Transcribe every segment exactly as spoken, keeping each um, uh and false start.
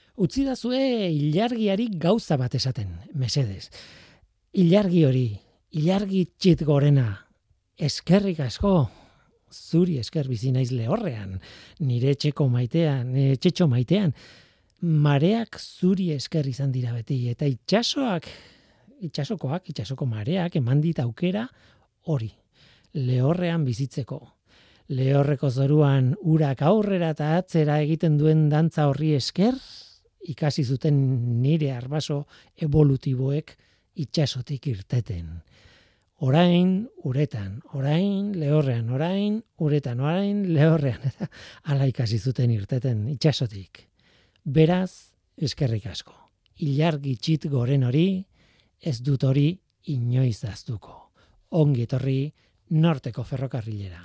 Utzi dazue ilargiari gauza bat esaten, mesedez. Ilargi hori, ilargi txit gorena, eskerrik asko, zuri esker bizi naiz Lehorrean, nire etxeko maitean, nire etxetxo maitean, mareak zuri esker izan dira beti, eta itxasoak, itxasokoak, itxasoko mareak eman dit aukera hori, Lehorrean bizitzeko. Lehorreko zoruan urak aurrera eta atzera egiten duen dantza horri esker, ikasi zuten nire arbaso evolutiboek itxasotik irteten. Orain, uretan, orain, Lehorrean, orain, uretan, orain, Lehorrean, eta ala ikasi zuten irteten itxasotik. Beraz, eskerrik asko. Ilargi txit goren hori, ez dut hori inoiz ahaztuko. Ongi etorri Norteko ferrokarrilera.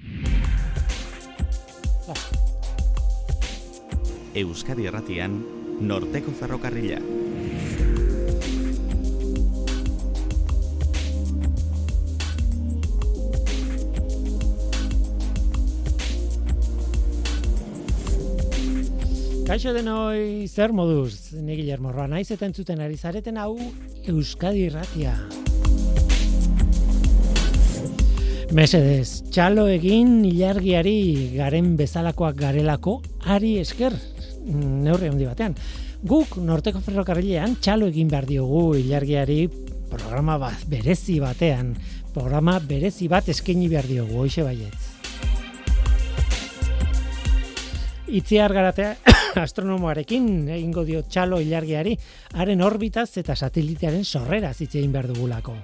Euskadi Erratian, Norteko ferrokarrila. Kaixo denoi, zer moduz? Ni Guillermo Roa naiz eta entzuten ari zareten hau Euskadi Irratia. Mesedez, txalo egin ilargiari garen bezalakoak garelako ari esker, neurri handi batean. Guk Norteko ferrokarrilean txalo egin behar diogu ilargiari programa bat, berezi batean, programa berezi bat eskaini behar diogu, hoxe baietz. Itziar Garatea astronomoarekin egingo dio txalo ilargiari, haren orbitaz eta satelitearen sorreraz hitz egin behar dugulako.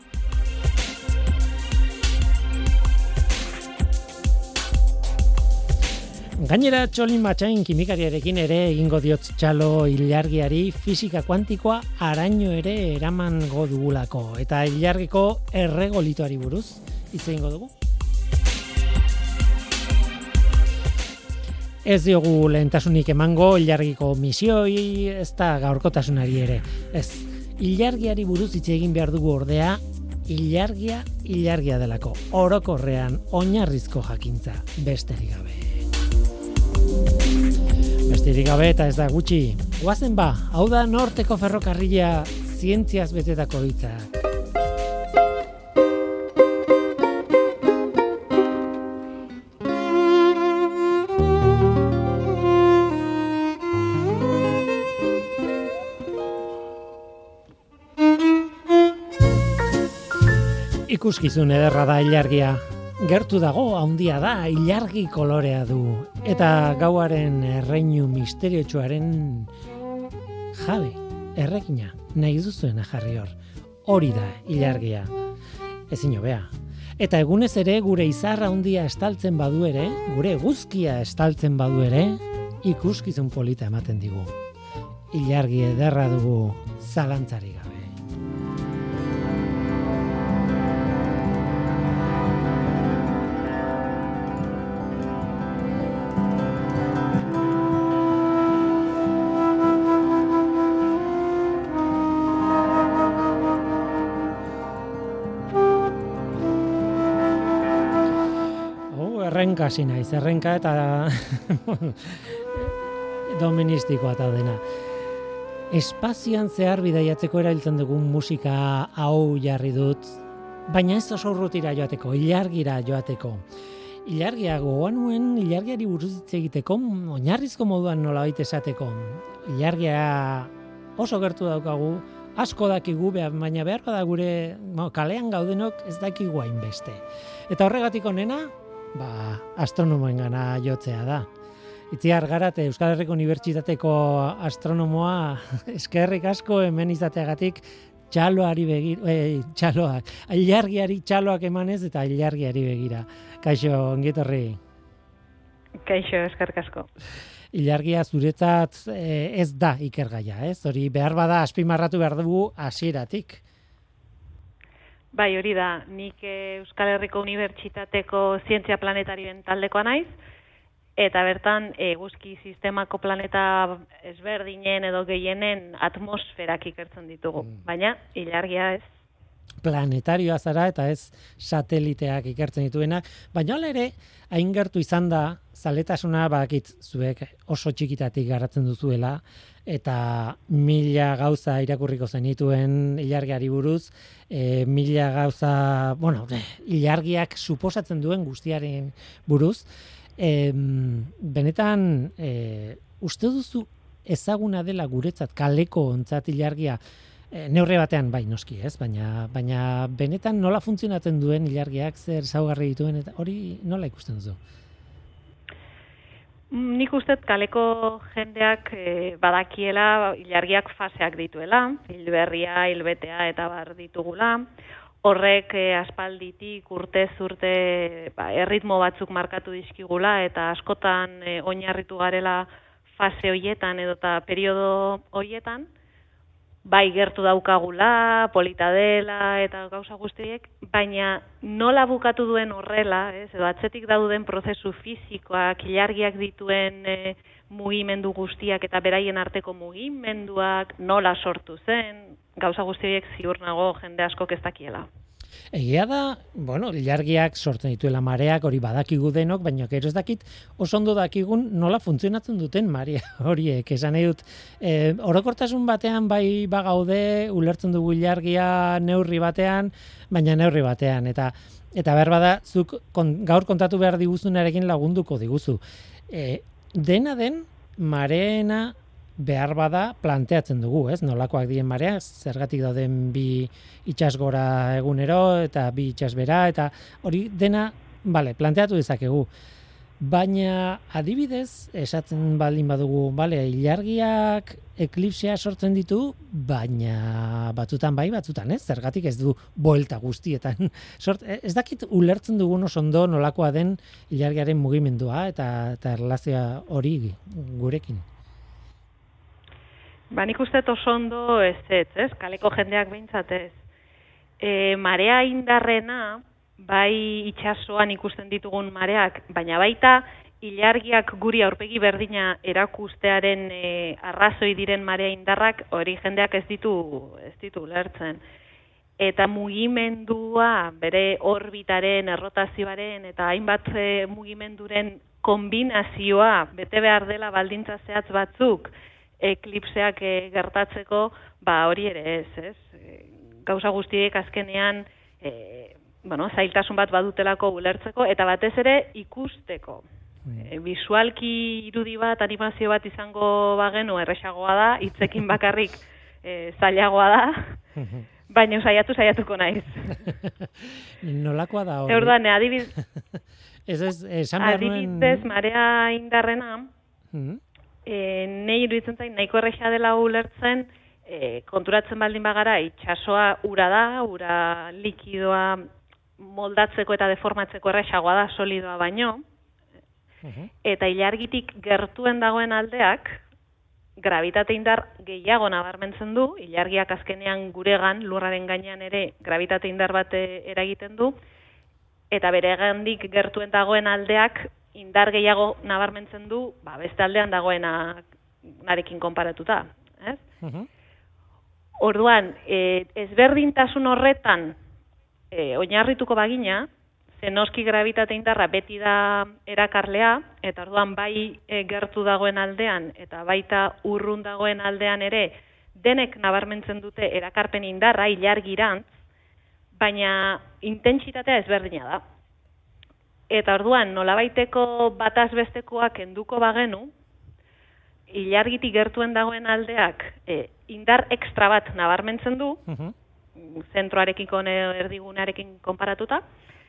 Gainera, Txolin Matxain kimikariarekin ere egingo diot txalo ilargiari fisika kuantikoa araño ere eramango dugulako. Eta ilargiko erregolitoari buruz hitz egingo dugu. Ez diogu lehentasunik emango ilargiko misioi, ez da gaurkotasunari ere. Ez, ilargiari buruz hitz egin behar dugu ordea, ilargia, ilargia delako. Orokorrean, oinarrizko jakintza, besterik gabe. Besterik gabe eta ez da gutxi. Goazen ba, hau da Norteko ferrokarrila zientziaz betetako hitzak. Ikuskizun ederra da ilargia. Gertu dago, handia da, ilargi kolorea du. Eta gauaren erreinu misteriotsuaren jabe, errekina, nahi duzuena jarri hor. Hori da, ilargia. Ezin hobea. Eta egunez ere, gure izarra handia estaltzen badu ere, gure eguzkia estaltzen badu ere, ikuskizun polita ematen digu. Ilargi ederra dugu, zalantzari gabe. Errenka hasi naiz, errenka eta doministikoa eta dena. Espazioan zehar bidaiatzeko erabiltzen dugun musika hau jarri dut, baina ez oso urrutira joateko, ilargira joateko. Ilargia gogoan nuen, ilargiari buruz hitz egiteko, oinarrizko moduan nolabait esateko. Ilargia oso gertu daukagu, asko dakigu, baina behar bada gure no, kalean gaudenok ez dakigu hainbeste. Eta horregatik onena, ba, astronomoengana jotzea da. Itziar Garate, Euskal Herriko Unibertsitateko astronomoa, eskerrik asko hemen izateagatik txaloari begira, eh, txaloak, ilargiari txaloak emanez eta ilargiari begira. Kaixo, ongietorri. Kaixo, eskerrik asko. Ilargia zuretzat eh, ez da ikergaia, ez? Hori behar bada azpimarratu behar dugu hasieratik. Bai, hori da, nik Euskal Herriko Unibertsitateko Zientzia Planetarioen taldekoa naiz, eta bertan eguzki sistemako planeta ezberdinen edo gehienen atmosferak ikertzen ditugu, mm. baina ilargia ez. planetarioa zara eta ez sateliteak ikertzen dituenak, baina hala ere, hain gertu izan da, zaletasuna badakit zuek oso txikitatik garatzen duzuela, eta mila gauza irakurriko zenituen ilargiari buruz, e, mila gauza, bueno, ilargiak suposatzen duen guztiaren buruz, e, benetan, e, uste duzu ezaguna dela guretzat kaleko ontzat ilargia, E, neurri batean bai noski, ez? Baina baina benetan nola funtzionatzen duen ilargiak, zer ezaugarri dituen eta hori nola ikusten duzu? Nik uste kaleko jendeak e, badakiela ilargiak faseak dituela, hilberria, hilbetea eta bar ditugula. Horrek e, aspalditik urtez urte ba, erritmo batzuk markatu dizkigula eta askotan e, oinarritu garela fase hoietan edota periodo hoietan. Bai gertu daukagula, polita dela eta gauza guztiek, baina nola bukatu duen horrela, ez, edo atzetik dauden prozesu fisikoak, ilargiak dituen e, mugimendu guztiak eta beraien arteko mugimenduak, nola sortu zen, gauza guztiek ziur nago jende askok ez dakiela. Egia da, bueno, ilargiak sortzen dituela mareak, hori badakigu denok, baina gero ez dakit oso ondo dakigun nola funtzionatzen duten marea horiek. Esan nahi dut, e, orokortasun batean bai bagaude, ulertzen dugu ilargia neurri batean, baina neurri batean. Eta eta behar bada, zuk kon, gaur kontatu behar diguzunarekin lagunduko diguzu. E, dena den, mareena behar bada planteatzen dugu, ez? Nolakoak diren mareak, zergatik dauden bi itsasgora egunero eta bi itsasbera eta hori dena, bale, planteatu dezakegu. Baina adibidez, esatzen baldin badugu, bale, ilargiak eklipsea sortzen ditu, baina batzutan bai, batzutan ez, zergatik ez du buelta guztietan. Sort, ez dakit ulertzen dugun oso ondo nolakoa den ilargiaren mugimendua eta, eta erlazioa hori gurekin. Ba, nik uste oso ondo ez ez, ez, kaleko jendeak behintzat ez. E, marea indarrena, bai itsasoan ikusten ditugun mareak, baina baita ilargiak guri aurpegi berdina erakustearen e, arrazoi diren marea indarrak, hori jendeak ez ditu, ez ditu lertzen. Eta mugimendua, bere orbitaren, errotazioaren eta hainbat e, mugimenduren kombinazioa bete behar dela baldintza zehatz batzuk, eklipseak e, gertatzeko, ba hori ere ez, ez? E, gauza guztiek azkenean e, bueno, zailtasun bat badutelako ulertzeko eta batez ere ikusteko. E, visualki irudi bat, animazio bat izango bagenu erresagoa da, hitzekin bakarrik e, zailagoa da, baina saiatu saiatuko naiz. Nolakoa da hori? Eordan, adibidez, ez ez, esan behar nuen... adibidez marea indarrena, mm-hmm. E, nei iruditzen zain, nahiko erresa dela ulertzen, e, konturatzen baldin bagara, itsasoa ura da, ura likidoa moldatzeko eta deformatzeko erresagoa da, solidoa baino, uh-huh. Eta ilargitik gertuen dagoen aldeak, gravitate indar gehiago nabarmentzen du, ilargiak azkenean guregan, lurraren gainean ere, gravitate indar bat eragiten du, eta bere gandik gertuen dagoen aldeak, indar gehiago nabarmentzen du, ba, beste aldean dagoena narekin konparatuta. Ez? Uh-huh. Orduan, e, ezberdintasun horretan e, oinarrituko bagina, zenoski gravitate indarra beti da erakarlea, eta orduan bai e, gertu dagoen aldean, eta baita urrun dagoen aldean ere, denek nabarmentzen dute erakarpen indarra, ilargirantz, baina intentsitatea ezberdina da. Eta orduan, nolabaiteko bataz bestekoak kenduko bagenu, ilargitik gertuen dagoen aldeak e, indar ekstra bat nabarmentzen du, uh-huh. Zentroarekiko erdigunarekin konparatuta,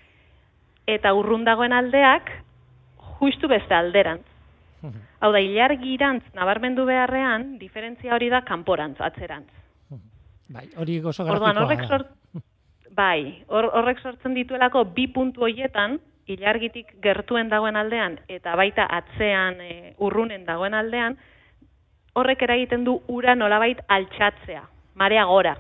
eta urrun dagoen aldeak justu beste alderantz. Uh-huh. Hau da, ilargirantz nabarmendu beharrean, diferentzia hori da kanporantz, atzerantz. Uh-huh. Bai, hori oso grafikoa da. Horrek sort, bai, hor, horrek sortzen dituelako bi puntu horietan, ilargitik gertuen dagoen aldean eta baita atzean e, urrunen dagoen aldean, horrek eragiten du ura nolabait altxatzea, marea gora.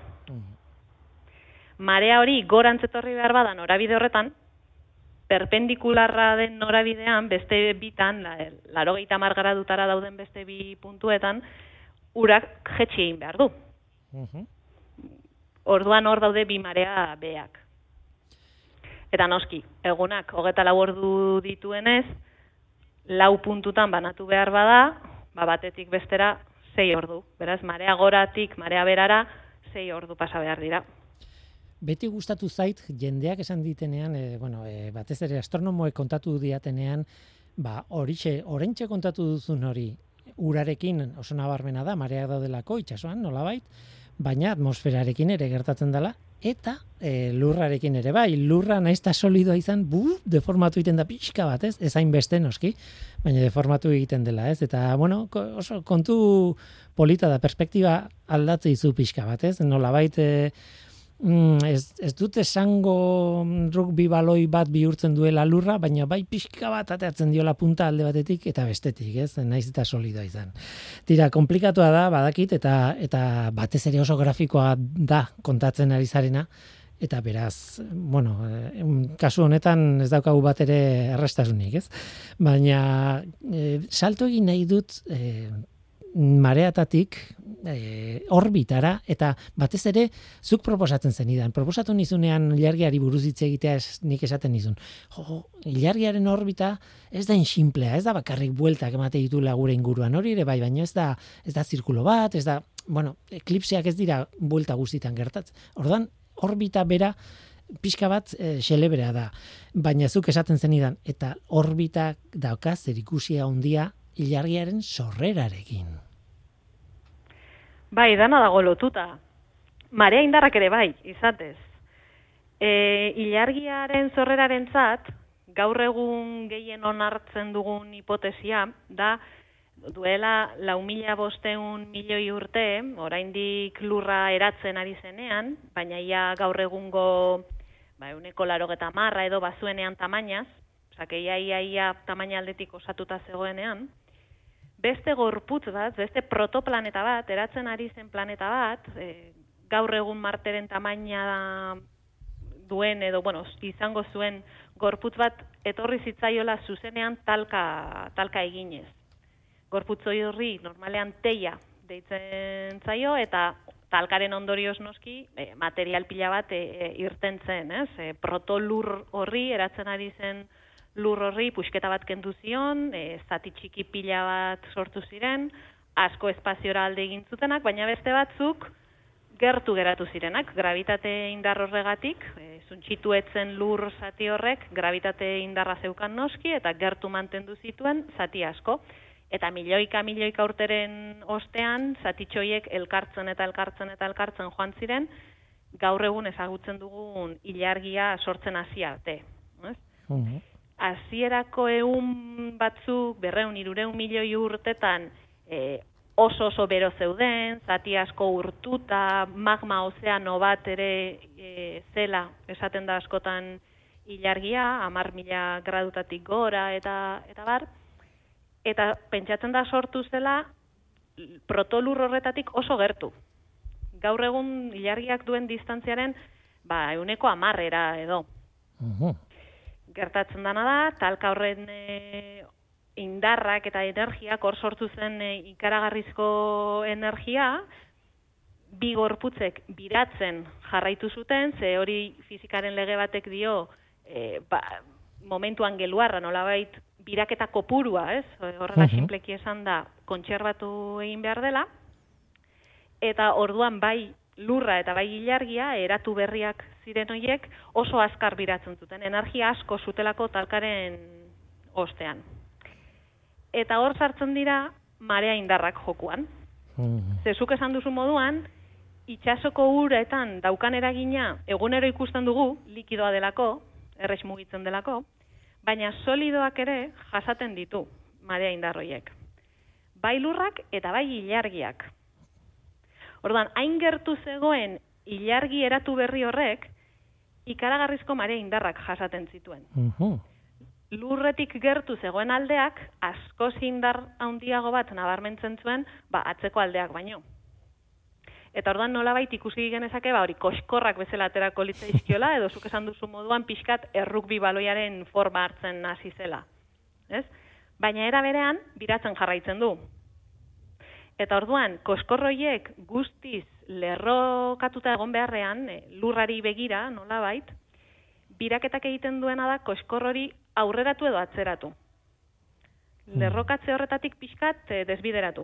Mm. Marea hori gorantz etorri behar bada norabide horretan, perpendikularra den norabidean, beste bitan, laurogeita hamar gradutara dauden beste bi puntuetan, urak jetxi egin behar du. Mm-hmm. orduan hor daude bi marea beak. Eta noski, egunak hogeita lau ordu dituenez, lau puntutan banatu behar bada, ba batetik bestera sei ordu. Beraz, marea goratik, marea berara, sei ordu pasa behar dira. Beti gustatu zait, jendeak esan ditenean, e, bueno, e, batez ere astronomoek kontatu diatenean, ba, horixe, orentxe kontatu duzun hori, urarekin oso nabarmena da, mareak daudelako, itsasoan, nolabait, baina atmosferarekin ere gertatzen dela, eta e, lurrarekin ere bai, lurra naizta solidoa izan, bu, deformatu egiten da pixka bat, ez? Ez hain beste noski, baina deformatu egiten dela, ez? Eta, bueno, oso kontu polita da, perspektiba aldatze izu pixka bat, ez? Nolabait, e, Mm, ez, ez dut esango rugby baloi bat bihurtzen duela lurra, baina bai pixka bat ateatzen diola punta alde batetik eta bestetik, ez? Naiz eta solidoa izan. Tira, komplikatua da, badakit, eta eta batez ere oso grafikoa da kontatzen ari zarena, eta beraz, bueno, kasu honetan ez daukagu bat ere errestasunik, ez? Baina e, salto egin nahi dut e, mareatatik e, orbitara, eta batez ere zuk proposatzen zenidan. Proposatu nizunean ilargiari buruz hitz egitea ez, nik esaten nizun. Jo, ilargiaren orbita ez da inxinplea, ez da bakarrik bueltak emate ditula gure inguruan, hori ere bai, baina ez da ez da zirkulo bat, ez da, bueno, eklipseak ez dira buelta guztitan gertatzen. Ordan orbita bera pixka bat e, xelebrea da, baina zuk esaten zenidan, eta orbitak dauka zerikusia handia ilargiaren sorrerarekin. Bai, dana dago lotuta. Marea indarrak ere bai, izatez. E, ilargiaren sorrerarentzat, gaur egun gehien onartzen dugun hipotesia, da duela lau mila bostehun milioi urte, oraindik lurra eratzen ari zenean, baina ia gaur egungo ba, ehuneko laurogeita hamarra edo bazuenean tamainaz, osake ia ia ia tamaina aldetik osatuta zegoenean, beste gorputz bat, beste protoplaneta bat, eratzen ari zen planeta bat, e, gaur egun Marteren tamaina duen edo, bueno, izango zuen gorputz bat etorri zitzaiola zuzenean talka, talka eginez. Gorputz horri normalean teia deitzen zaio, eta talkaren ondorioz noski e, material pila bat e, e, irten zen, ez? E, protolur horri eratzen ari zen lur horri puxketa bat kendu zion, e, zati txiki pila bat sortu ziren, asko espaziora alde egin zutenak, baina beste batzuk gertu geratu zirenak, gravitate indar horregatik, e, zuntxitu etzen lur zati horrek, gravitate indarra zeukan noski, eta gertu mantendu zituen zati asko. Eta milioika milioika urteren ostean, zatitxoiek elkartzen eta elkartzen eta elkartzen joan ziren, gaur egun ezagutzen dugun ilargia sortzen hasi arte. Uh-huh. Hasierako ehun batzuk, berreun, hirureun milioi urtetan e, oso oso bero zeuden, zati asko urtuta, magma ozeano bat ere e, zela, esaten da askotan ilargia, hamar mila gradutatik gora eta eta bar, eta pentsatzen da sortu zela protolur horretatik oso gertu. Gaur egun ilargiak duen distantziaren ba, ehuneko hamarrera edo. Uh-huh. Gertatzen dana da, talka horren e, indarrak eta energiak hor sortu zen e, ikaragarrizko energia, bi gorputzek biratzen jarraitu zuten, ze hori fizikaren lege batek dio, e, ba, momentuan geluarra nolabait biraketa kopurua, ez? Horrela uh-huh. Sinpleki esan da, kontserbatu egin behar dela, eta orduan bai lurra eta bai ilargia, eratu berriak ziren horiek, oso azkar biratzen zuten, energia asko zutelako talkaren ostean. Eta hor sartzen dira marea indarrak jokuan. Mm. Zezuk esan duzu moduan, itsasoko uretan daukan eragina egunero ikusten dugu, likidoa delako, errex mugitzen delako, baina solidoak ere jasaten ditu marea indarroiek. Bai lurrak eta bai ilargiak. Orduan, hain gertu zegoen ilargi eratu berri horrek, ikaragarrizko marea indarrak jasaten zituen. Uh-huh. Lurretik gertu zegoen aldeak, askoz indar handiago bat nabarmentzen zuen, ba, atzeko aldeak baino. Eta orduan nolabait ikusi genezake, ba, hori koskorrak bezala aterako litzaizkiola, edo zuk esan duzu moduan pixkat errukbi baloiaren forma hartzen hasi zela. Ez? Baina era berean, biratzen jarraitzen du. Eta orduan, koskorroiek guztiz lerrokatuta egon beharrean, e, lurrari begira, nolabait, biraketak egiten duena da koskor hori aurreratu edo atzeratu. Lerrokatze horretatik pixkat e, desbideratu.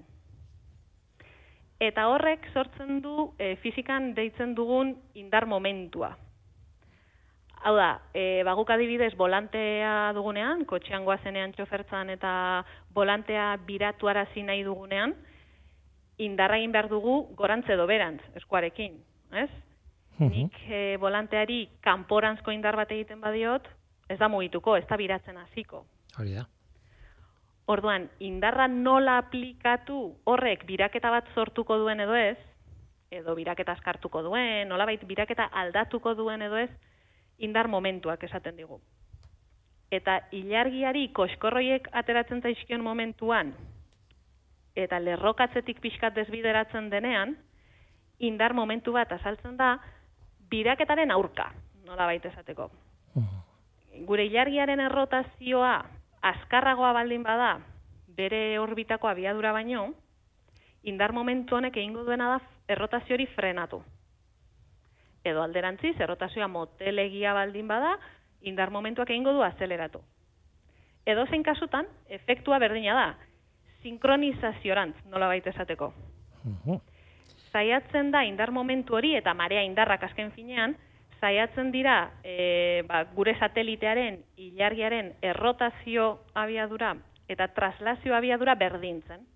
Eta horrek sortzen du e, fizikan deitzen dugun indar momentua. Hau da, e, baguk adibidez volantea dugunean, kotxean goazenean txofertzan eta volantea biratu arazi nahi dugunean, indarra egin behar dugu gorantz edo berantz, eskuarekin, ez? Uh-huh. Nik e, volanteari kanporanzko indar bat egiten badiot, ez da mugituko, ez da biratzen hasiko. Hori da. Orduan, indarra nola aplikatu horrek biraketa bat sortuko duen edo ez, edo biraketa askartuko duen, nolabait biraketa aldatuko duen edo ez, indar momentuak esaten digu. Eta ilargiari koskorroiek ateratzen zaizkion momentuan, eta lerrokatzetik pixkat desbideratzen denean, indar momentu bat azaltzen da, biraketaren aurka, nolabait esateko. Gure ilargiaren errotazioa azkarragoa baldin bada, bere orbitako abiadura baino, indar momentu honek egingo duena da errotazio hori frenatu. Edo alderantziz, errotazioa motelegia baldin bada, indar momentuak egingo du azeleratu. Edo zein kasutan, efektua berdina da, sinkronizaziorantz, nolabait esateko. Uh-huh. Zaiatzen da indar momentu hori eta marea indarrak azken finean, zaiatzen dira e, ba, gure satelitearen, ilargiaren errotazio abiadura eta traslazio abiadura berdintzen.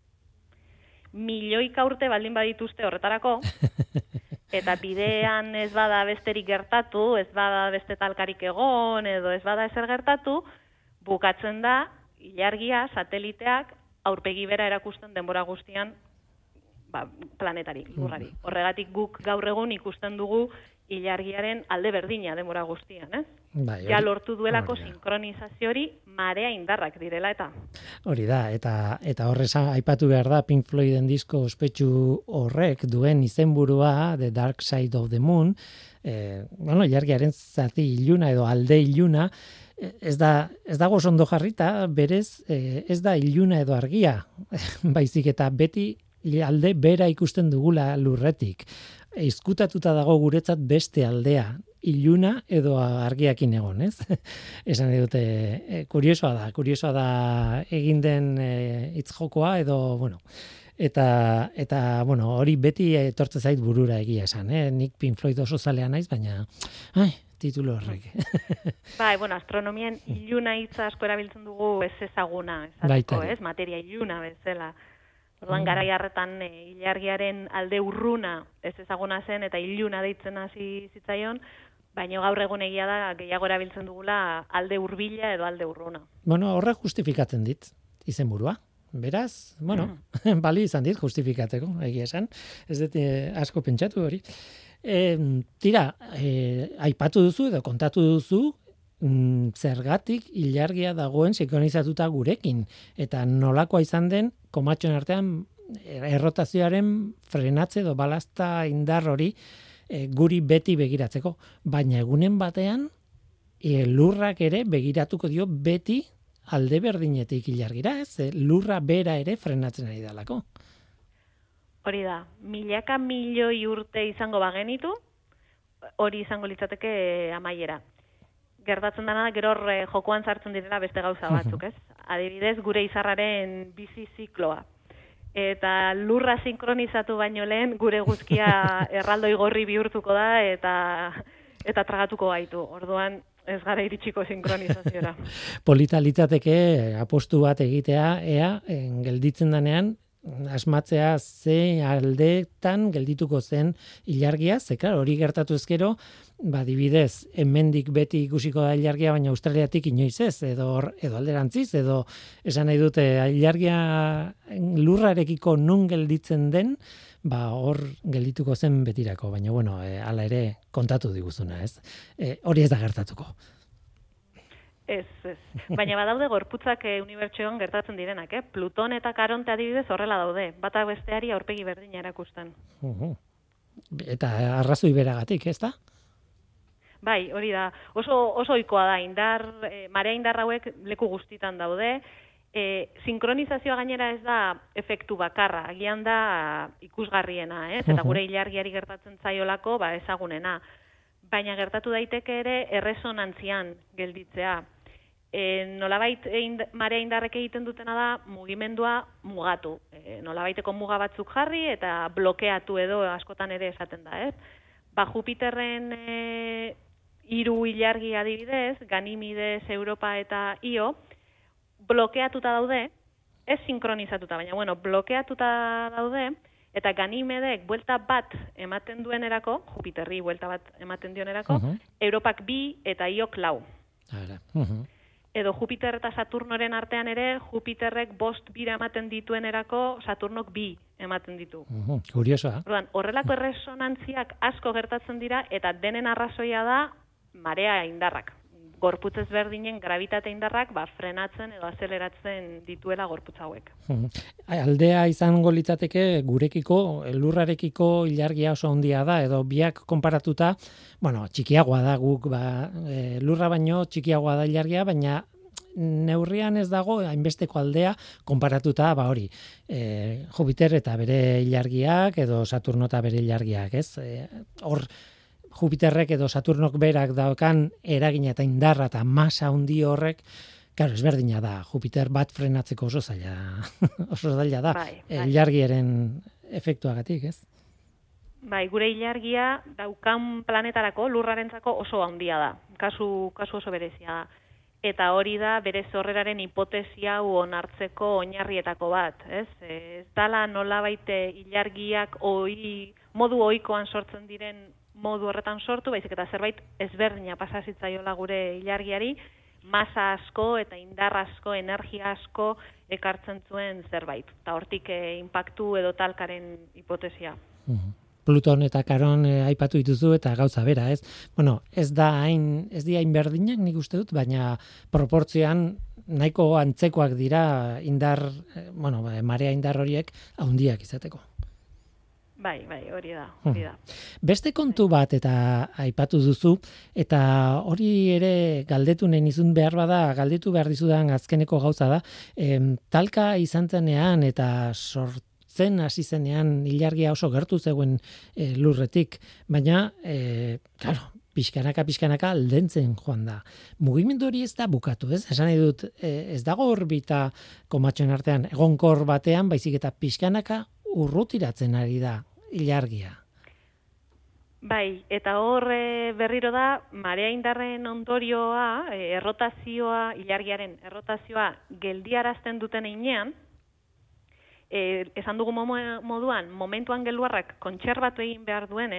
Milioika urte baldin badituzte horretarako, eta bidean ez bada besterik gertatu, ez bada beste talkarik egon, edo ez bada ezer gertatu, bukatzen da, ilargia, sateliteak, aurpegi bera erakusten denbora guztian ba, planetari, lurrari. Horregatik guk gaur egun ikusten dugu ilargiaren alde berdina denbora guztian, ez? Bai, hori, ja lortu duelako sinkronizazio hori marea indarrak direla eta. Hori da, eta eta horrez aipatu behar da Pink Floyden disko ospetsu horrek duen izenburua The Dark Side of the Moon, eh, bueno, ilargiaren zati iluna edo alde iluna, ez da ez dago ondo jarrita, berez eh, ez da iluna edo argia, baizik eta beti alde bera ikusten dugula lurretik. Ezkutatuta dago guretzat beste aldea, iluna edo argiakin egon, ez? Esan dute, e, kuriosoa da, kuriosoa da egin den e, hitzjokoa edo, bueno, eta, eta bueno, hori beti etortze zait burura egia esan, eh? Nik Pink Floyd oso zalea naiz, baina, ai, titulo horrek. Bai, bueno, astronomian iluna hitza asko erabiltzen dugu ez ezaguna, esateko, ez? Materia iluna bezala. Orduan garai harretan e, ilargiaren alde urruna ez ezaguna zen eta iluna deitzen hasi zitzaion, baina gaur egun egia da gehiago erabiltzen dugula alde hurbila edo alde urruna. Bueno, horrek justifikatzen dit izenburua. Beraz, bueno, mm. bali izan dit justifikatzeko, egia esan. Ez dut eh, asko pentsatu hori. E, tira, e, aipatu duzu edo kontatu duzu mm, zergatik ilargia dagoen sinkronizatuta gurekin eta nolakoa izan den komatxoen artean errotazioaren frenatze edo balazta indar hori e, guri beti begiratzeko. Baina egunen batean e, lurrak ere begiratuko dio beti alde berdinetik ilargira, ez? E, lurra bera ere frenatzen ari dalako. Hori da, milaka milioi urte izango bagenitu, hori izango litzateke amaiera. Gertatzen dena gero hor jokoan sartzen direla beste gauza batzuk, ez? Adibidez, gure izarraren bizi zikloa. Eta lurra sinkronizatu baino lehen gure guzkia erraldoi gorri bihurtuko da eta eta tragatuko gaitu. Orduan ez gara iritsiko sinkronizaziora. Polita litzateke apostu bat egitea, ea, en, gelditzen danean, asmatzea ze aldetan geldituko zen ilargia, ze klar, hori gertatu ezkero, ba dibidez, hemendik beti ikusiko da ilargia, baina Australiatik inoiz ez, edo edo alderantziz, edo esan nahi dute ilargia lurrarekiko nun gelditzen den, ba hor geldituko zen betirako, baina bueno, e, hala ere kontatu diguzuna, ez? E, hori ez da gertatuko. Ez, ez. Baina badaude gorputzak e, unibertsoan gertatzen direnak, eh? Pluton eta Karonte adibidez horrela daude, bata besteari aurpegi berdina erakusten. Uh-huh. Eta arrazoi beragatik, ez da? Bai, hori da. Oso oso ohikoa da indar, e, marea indar hauek leku guztitan daude, E, sinkronizazioa gainera ez da efektu bakarra, agian da ikusgarriena, ez? Eta gure ilargiari gertatzen zaiolako, ba, ezagunena. Baina gertatu daiteke ere erresonantzian gelditzea. E, nolabait eind, marea indarrek egiten dutena da mugimendua mugatu. E, nolabaiteko muga batzuk jarri eta blokeatu edo askotan ere esaten da, ez? Ba, Jupiterren e, hiru ilargi adibidez, Ganimides, Europa eta Io, blokeatuta daude, ez sinkronizatuta, baina bueno, blokeatuta daude, eta Ganimedek buelta bat ematen duenerako, Jupiterri buelta bat ematen dionerako, uh-huh. Europak bi eta Iok lau. Ara. Uh-huh. Edo Jupiter eta Saturnoren artean ere, Jupiterrek bost bira ematen dituenerako, Saturnok bi ematen ditu. Uh-huh. Kuriosoa. Orduan, horrelako erresonantziak asko gertatzen dira, eta denen arrazoia da marea indarrak. Gorputz ezberdinen gravitate indarrak ba, frenatzen edo azeleratzen dituela gorputz hauek. Hmm. Aldea izango litzateke gurekiko, lurrarekiko ilargia oso handia da, edo biak konparatuta, bueno, txikiagoa da guk, ba, e, lurra baino txikiagoa da ilargia, baina neurrian ez dago hainbesteko aldea konparatuta, ba hori, e, Jupiter eta bere ilargiak, edo Saturno eta bere ilargiak, ez? E, hor, Jupiterrek edo Saturnok berak daukan eragina eta indarra eta masa handi horrek, claro, ezberdina da. Jupiter bat frenatzeko oso zaila, oso zaila da. Bai, bai. Ilargiaren efektuagatik, ez? Bai, gure ilargia daukan planetarako, lurrarentzako oso handia da. Kasu, kasu oso berezia da. Eta hori da bere sorreraren hipotesia hau onartzeko oinarrietako bat, ez? Ez dala nolabait ilargiak oi, modu ohikoan sortzen diren modu horretan sortu, baizik eta zerbait ezberdina pasa zitzaiola gure ilargiari, masa asko eta indar asko, energia asko ekartzen zuen zerbait. Eta hortik eh, impactu edo talkaren hipotesia. Uh-huh. Pluton eta Karon eh, aipatu dituzu eta gauza bera, ez? Bueno, ez da hain, ez dira hain berdinak nik uste dut, baina proportzioan nahiko antzekoak dira indar, eh, bueno, marea indar horiek handiak izateko. Bai, bai, hori da, hori da. Beste kontu bat eta aipatu duzu, eta hori ere galdetu nahi nizun behar bada, galdetu behar dizudan azkeneko gauza da, em, talka izan zenean eta sortzen hasi zenean ilargia oso gertu zegoen e, lurretik, baina, e, claro, pixkanaka, pixkanaka aldentzen joan da. Mugimendu hori ez da bukatu, ez? Esan nahi dut, ez dago orbita komatxoen artean, egonkor batean, baizik eta pixkanaka urrutiratzen ari da ilargia. Bai, eta hor e, berriro da, marea indarren ondorioa, e, errotazioa, ilargiaren errotazioa geldiarazten duten einean, e, esan dugu moduan, momentuan gelduarrak kontserbatu egin behar duenez,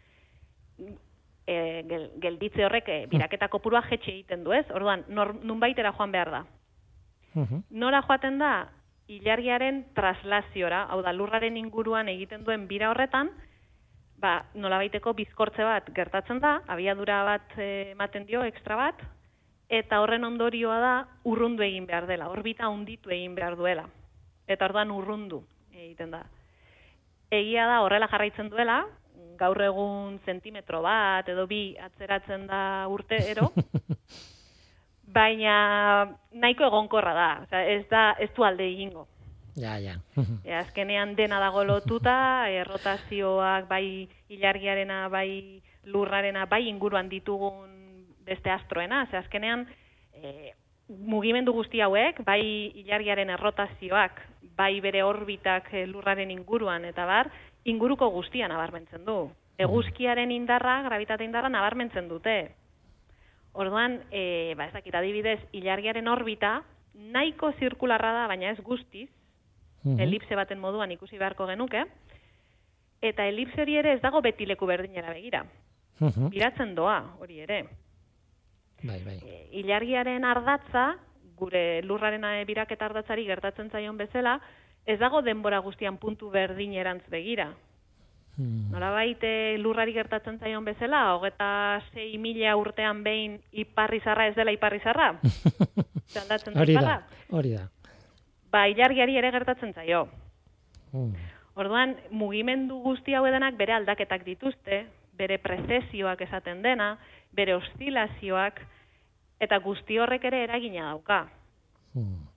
e, gel, gelditze horrek e, biraketa kopurua jetxe egiten du, ez? Orduan, nunbaitera joan behar da. Uh-huh. Nora joaten da? Ilargiaren traslaziora, hau da, lurraren inguruan egiten duen bira horretan, ba, nolabaiteko bizkortze bat gertatzen da, abiadura bat ematen dio, ekstra bat, eta horren ondorioa da urrundu egin behar dela, orbita hunditu egin behar duela. Eta orduan urrundu egiten da. Egia da horrela jarraitzen duela, gaur egun zentimetro bat edo bi atzeratzen da urtero, baina nahiko egonkorra da, osea, ez da, ez du alde egingo. Ja, ja. E, azkenean dena dago lotuta, errotazioak bai ilargiarena, bai lurrarena, bai inguruan ditugun beste astroena, ze azkenean e, mugimendu guzti hauek, bai ilargiaren errotazioak, bai bere orbitak lurraren inguruan, eta bar, inguruko guztia nabarmentzen du. Eguzkiaren indarra, gravitate indarra nabarmentzen dute. Orduan, e, ba, ez dakit, adibidez, ilargiaren orbita nahiko zirkularra da, baina ez guztiz, uh-huh. elipse baten moduan ikusi beharko genuke, eta elipse hori ere ez dago beti leku berdinera begira. Uh-huh. Biratzen doa, hori ere. Bai, bai. E, ilargiaren ardatza, gure lurraren biraketa ardatzari gertatzen zaion bezala, ez dago denbora guztian puntu berdinerantz begira. Hmm. Nolabait lurrari gertatzen zaion bezala, hogeta sei mila urtean behin iparrizarra ez dela iparrizarra? Aldatzen da iparra? Hori da. Ba, ilargiari ere gertatzen zaio. Hmm. Orduan, mugimendu guzti hau edenak bere aldaketak dituzte, bere prezesioak esaten dena, bere oszilazioak, eta guzti horrek ere eragina dauka. Hmm.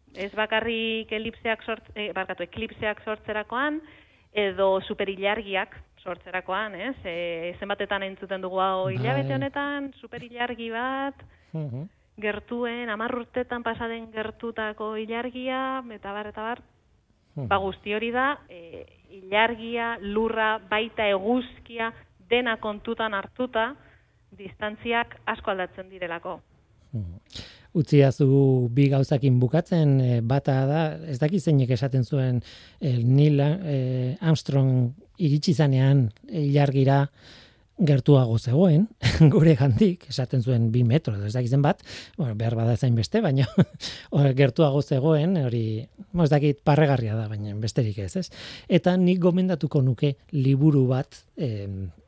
Ez bakarrik elipseak sort, eh, barkatu, eklipseak sortzerakoan, edo superilargiak sortzerakoan, ez? E, zenbatetan entzuten dugu hau hilabete honetan, superilargi bat, uh-huh. gertuen, hamar urtetan pasaden gertutako ilargia, eta bar, eta bar, uh-huh. ba guzti hori da, e, ilargia, lurra, baita eguzkia, dena kontutan hartuta, distantziak asko aldatzen direlako. Uh-huh. Utziazu bi gauzakin bukatzen, bata da, ez daki zeinek esaten zuen el Neil eh, Armstrong iritsi zanean ilargira gertuago zegoen, gure gandik, esaten zuen bi metro, ez dakizen bat, bueno, behar bada zain beste, baina gertuago zegoen, hori, ez dakit parregarria da, baina besterik ez, ez? Eta nik gomendatuko nuke liburu bat, eh,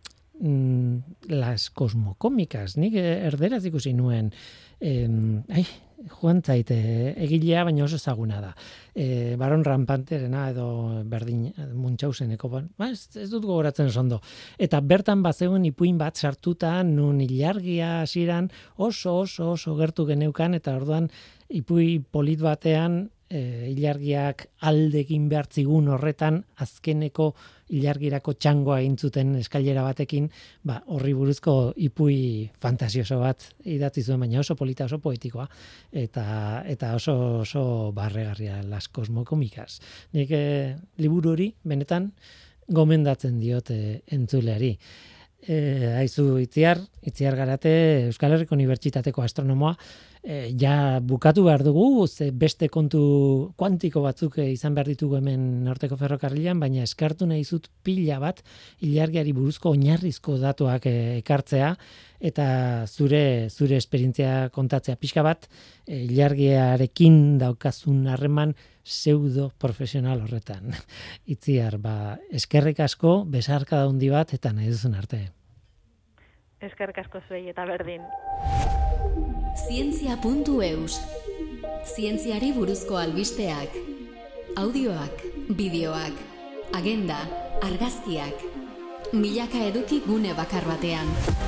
las cosmocómicas, nik erderaz ikusi nuen, eh, ai, joan zaite, egilea, baina oso ezaguna da. Eh, Baron Rampanterena edo berdin Munchauseneko, ba, ez, ez dut gogoratzen ondo. Eta bertan bazegoen ipuin bat sartuta, nun ilargia hasieran oso oso oso gertu geneukan, eta orduan ipui polit batean e, ilargiak aldekin behartzigun horretan azkeneko ilargirako txangoa intzuten eskailera batekin, ba, horri buruzko ipui fantasioso bat idatzi zuen, baina oso polita, oso poetikoa, eta, eta oso, oso barregarria las cosmocómicas. Nik eh, liburu hori, benetan, gomendatzen diot eh, entzuleari. E, haizu Itziar, Itziar Garate, Euskal Herriko Unibertsitateko astronomoa, e, ja bukatu behar dugu, ze beste kontu kuantiko batzuk izan behar ditugu hemen Norteko Ferrokarrilan, baina eskartu nahi zut pila bat ilargiari buruzko oinarrizko datuak e, ekartzea, eta zure zure esperientzia kontatzea pixka bat, e, ilargiarekin daukazun harreman pseudo profesional horretan. Itziar, ba, eskerrik asko, besarka handi bat, eta nahi duzun arte. Eskerrik asko zuei eta berdin. Zientzia puntu eus. Zientziari buruzko albisteak. Audioak, bideoak, agenda, argazkiak. Milaka eduki gune bakar batean.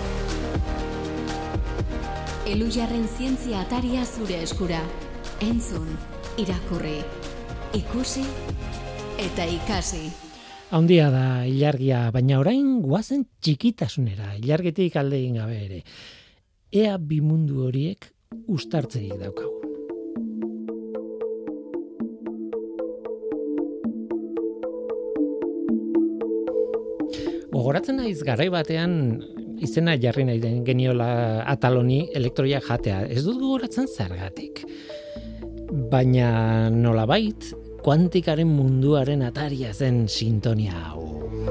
Elujarren zientzia ataria zure eskura. Entzun, irakurri, ikusi eta ikasi. Handia da ilargia, baina orain guazen txikitasunera, ilargetik alde egin gabe ere. Ea bi mundu horiek uztartzerik daukagu. Gogoratzen naiz garai batean izena jarri nahi den geniola ataloni elektroia jatea. Ez dut gogoratzen zergatik. Baina nolabait, kuantikaren munduaren ataria zen sintonia hau.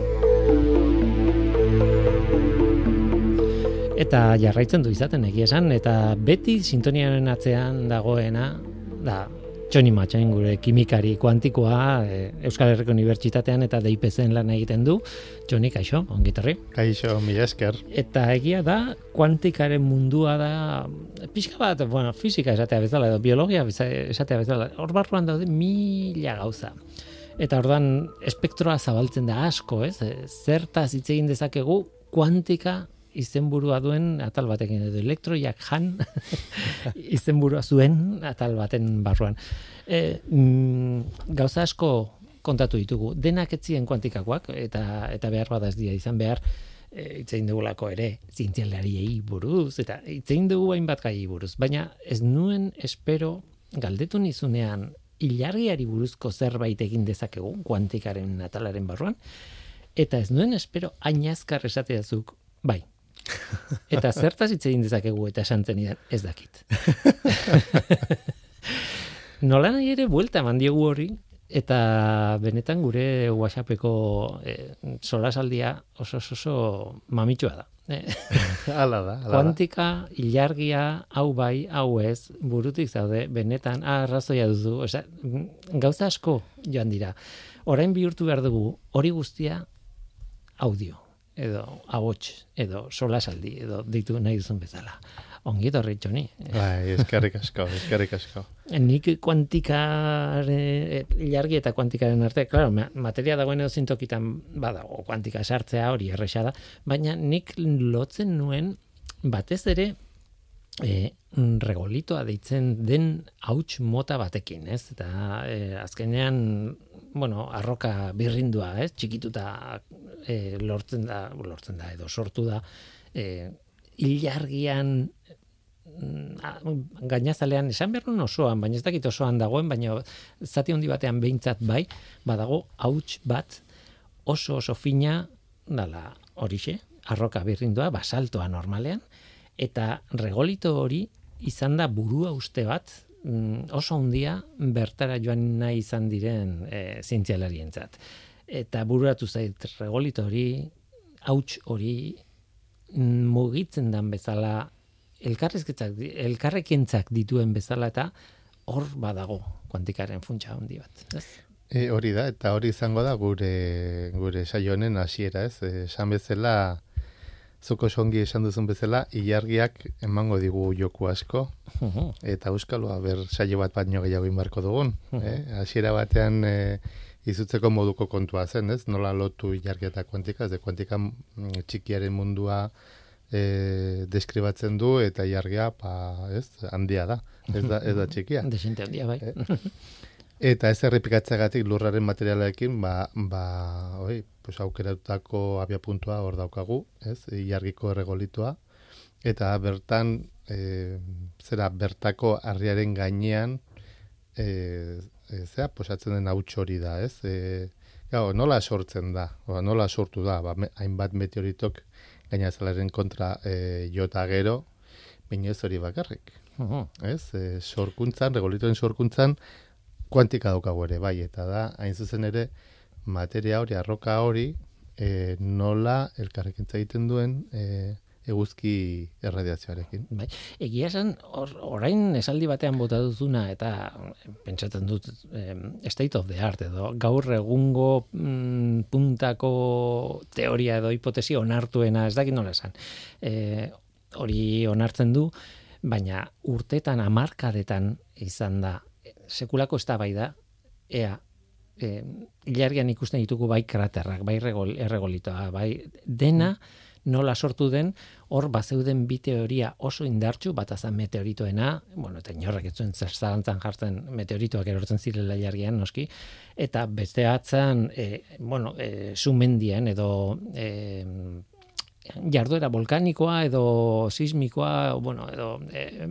Eta jarraitzen du izaten egia esan, eta beti sintoniaren atzean dagoena, da, Txoni Matxain gure kimikari kuantikoa, e, Euskal Herriko Unibertsitatean eta D I P C-en lan egiten du. Txoni, kaixo, ongitorri. Kaixo, mila esker. Eta egia da, kuantikaren mundua da, pixka bat, bueno, fisika esatea bezala, edo biologia esatea bezala, hor barruan daude mila gauza. Eta orduan espektroa zabaltzen da asko, ez? Zertaz hitz egin dezakegu kuantika izenburua duen atal batekin, edo elektroiak jan izenburua zuen atal baten barruan. E, mm, gauza asko kontatu ditugu, denak etzien kuantikakoak, eta eta behar bada ez dira izan behar, e, itzein dugulako ere, zientzialariei buruz, eta itzein dugu hainbat gai buruz, baina ez nuen espero galdetu nizunean ilargiari buruzko zerbait egin dezakegu, kuantikaren atalaren barruan, eta ez nuen espero hain azkar esateazuk, bai, eta zertaz hitz egin dezakegu eta esantzen idan, ez dakit. Nola nahi ere buelta eman diogu hori, eta benetan gure WhatsAppeko eh, solasaldia oso oso, oso mamitsua da. Hala da, hala da. Kuantika, ilargia, hau bai, hau ez, burutik zaude, benetan, ah, arrazoia duzu, osea, gauza asko joan dira. Orain bihurtu behar dugu, hori guztia audio, edo ahots, edo solasaldi, edo deitu nahi duzun bezala. Ongi etorri, Txoni. Bai, eskerrik asko, eskerrik asko. Nik kuantikare, ilargi eta kuantikaren arte, claro, materia dagoen edo zintokitan badago, kuantika sartzea hori erresa da, baina nik lotzen nuen batez ere e, regolitoa deitzen den hauts mota batekin, ez? Eta e, azkenean, bueno, arroka birrindua, ez? Txikituta e, lortzen da, lortzen da edo sortu da, e, ilargian gainazalean esan behar nun osoan, baina ez dakit osoan dagoen, baina zati handi batean behintzat bai, badago hauts bat oso oso fina dala horixe, arroka birrindua, basaltoa normalean, eta regolito hori izan da burua uste bat oso handia bertara joan nahi izan diren e, zientzialarientzat. Eta bururatu zait regolito hori, hauts hori mugitzen dan bezala elkarrezketzak, elkarrekentzak dituen bezala eta hor badago kuantikaren funtsa handi bat. Ez? E, hori da, eta hori izango da gure gure saio honen hasiera, ez? Esan bezala, zuko songi esan duzun bezala, ilargiak emango digu joku asko, uh-huh. eta euskaloa ber saio bat baino gehiago inbarko dugun. Uh-huh. Eh? Hasiera batean e, izutzeko moduko kontua zen, ez? Nola lotu ilargia eta kuantika, ez de kuantika txikiaren mundua E, deskribatzen du eta ilargia pa, ez, handia da, ez da, ez da txikia. Desente handia, bai. E, eta ez errepikatzeagatik lurraren materialarekin, ba, ba, oi, pues aukeratutako abiapuntua hor daukagu, ez, ilargiko erregolitua, eta bertan, e, zera, bertako harriaren gainean, e, e, zera, posatzen den hauts hori da, ez, e, gau, nola sortzen da, o, nola sortu da, ba, me, hainbat meteoritok gainazalaren kontra e, jota gero, baina ez hori bakarrik. Uh-huh. Ez, e, sorkuntzan, regolitoen sorkuntzan, kuantika daukagu ere, bai, eta da, hain zuzen ere, materia hori, arroka hori, e, nola elkarrekintza egiten duen e, eguzki erradiazioarekin. Bai. Egia esan, or, orain esaldi batean bota duzuna, eta pentsatzen dut eh, state of the art, edo gaur egungo mm, puntako teoria edo hipotesi onartuena, ez dakit nola esan. E, hori onartzen du, baina urtetan, hamarkadetan izan da, sekulako eztabaida, ea, e, ilargian ikusten ditugu bai kraterrak, bai regol, erregolitoa, bai dena, nola sortu den, hor bazeuden bi teoria oso indartsu, bat azan meteoritoena, bueno, eta inorrek ez zuen zalantzan jartzen meteoritoak erortzen zirela ilargian, noski, eta beste atzan, e, bueno, e, sumendian edo e, jarduera volkanikoa edo sismikoa, bueno, edo e,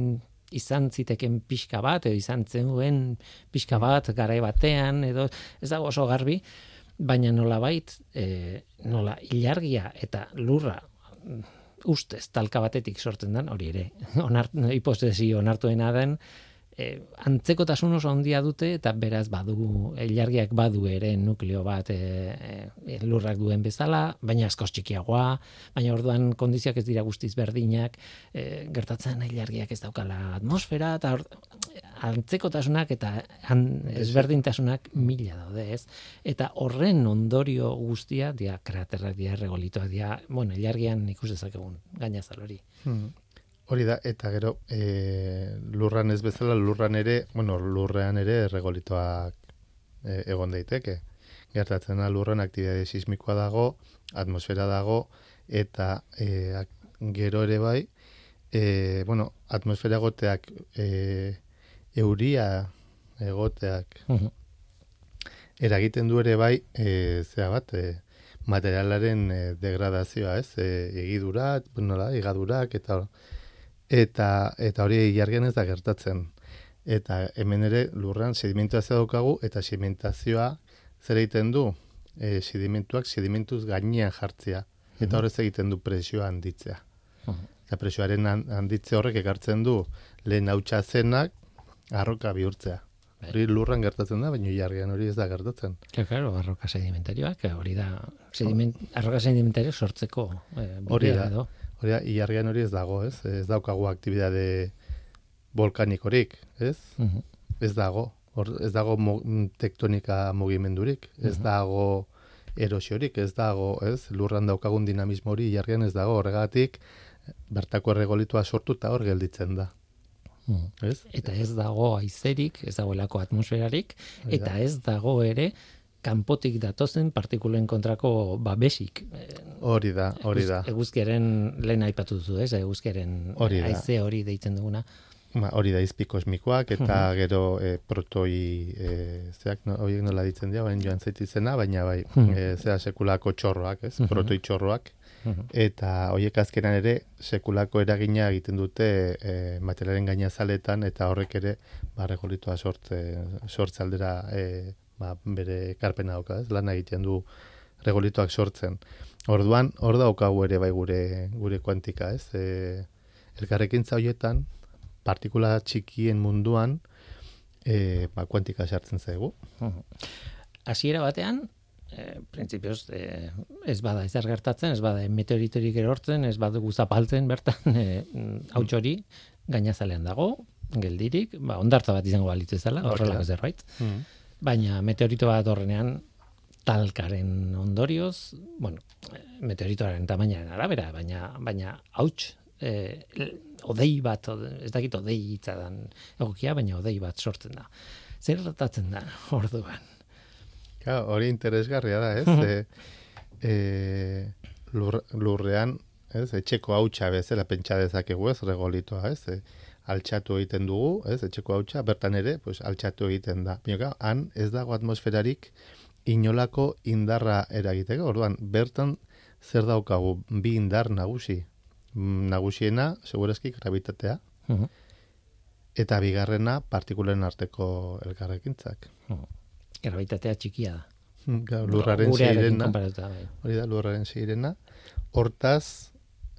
izan ziteken pixka bat, edo izan zenuen pixka bat, garai batean, edo ez dago oso garbi, baina nolabait, e, nola ilargia eta lurra ustez talka batetik sortzen den, hori ere, onart, hipotesi onartuena den, e, antzekotasun oso handia dute, eta beraz badu, ilargiak badu ere nukleo bat e, e, lurrak duen bezala, baina askoz txikiagoa, baina orduan kondizioak ez dira guztiz berdinak, e, gertatzen ilargiak ez daukala atmosfera, eta or, antzekotasunak eta an, ezberdintasunak mila daude, ez? Eta horren ondorio guztia, dia kraterrak, dia erregolitoak, dia, bueno, ilargian ikus dezakegun gainazal hori. Hmm. Hori da, eta gero, e, lurran ez bezala, lurran ere, bueno, lurrean ere erregolitoak e, egon daiteke. Gertatzen da, lurran aktibitate sismikoa dago, atmosfera dago, eta e, gero ere bai, e, bueno, atmosfera goteak e, euria egoteak uh-huh. eragiten du ere bai, e, zera bat, e, materialaren e, degradazioa, ez? E, egidura, bueno, la, igadurak, eta eta eta hori ilargian ez da gertatzen. Eta hemen ere lurran sedimentazioa daukagu, eta sedimentazioa zer egiten du? E, sedimentuak sedimentuz gainean jartzea. Eta uh-huh. horrez egiten du presioa handitzea. Uh-huh. Eta presioaren handitze horrek ekartzen du lehen hautsa zenak arroka bihurtzea. Hori lurran gertatzen da, baina ilargian hori ez da gertatzen. Claro, arroka sedimentarioak, hori da sediment, arroka sedimentario sortzeko eh, hori da, edo. Hori da, ilargian hori ez dago, ez? Ez daukagu aktibitate volkanikorik, ez? Uh-huh. Ez dago. Hor, ez dago mo, tektonika mugimendurik, ez uh-huh. dago erosiorik, ez dago, ez? Lurran daukagun dinamismo hori ilargian ez dago, horregatik bertako erregolitua sortu eta hor gelditzen da. Ez? Eta ez dago haizerik, ez dagoelako atmosferarik, eta ez dago ere kanpotik datozen partikulen kontrako babesik. Hori da, hori da. Eguzkiaren lehen aipatu duzu, ez? Eguzkiaren haize hori deitzen duguna. Ba, hori da izpi kosmikoak, eta uh-huh. gero e, protoi, e, zeak, no, horiek nola ditzen dira, baina joan zaitizena, baina bai, uh-huh. e, zera sekulako txorroak, ez? Uh-huh. Protoi txorroak. Uh-huh. Eta horiek azkenan ere sekulako eragina egiten dute e, materialen gainazaletan, eta horrek ere ba, regolitoa sortze, sortze aldera e, ba, bere karpena dauka, ez? Lan egiten du regolitoak sortzen. Orduan, hor daukagu ere bai gure, gure kuantika, ez? E, elkarrekintza horietan, partikula txikien munduan e, ba, kuantika sartzen zaigu. Hasiera batean, e, printzipioz, e, ez bada ezer gertatzen, ez bada meteoritorik erortzen, ez badugu zapaltzen bertan, e, hauts hori gainazalean dago, geldirik, ba, ondartza bat izango balitzu ezala, horrelako zerbait. Mm. Baina meteorito bat horrenean, talkaren ondorioz, bueno, meteoritoaren tamainaren arabera, baina, baina hauts, eh, odei bat, ez dakit odei hitza dan egokia, baina odei bat sortzen da. Zer gertatzen da orduan? Claro, hori interesgarria da, ez? e, e, lur, lurrean, ez? Etxeko hautsa bezala pentsa dezakegu, ez? Regolitoa, ez? E, altxatu egiten dugu, ez? Etxeko hautsa, bertan ere, pues, altxatu egiten da. Baina, han ez dago atmosferarik inolako indarra eragiteko. Orduan, bertan zer daukagu bi indar nagusi. Nagusiena, segurazki, gravitatea, uh-huh. eta bigarrena, partikulen arteko elkarrekintzak. Uh-huh. Gravitatea txikia da. Ga, lurraren zeirena. Hori da, lurraren zeirena. Hortaz,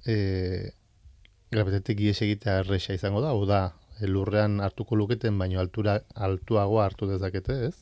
e, gravitatik ies egitea erresa izango da, hau da, lurrean hartuko luketen, baino altura, altuagoa hartu dezakete, ez?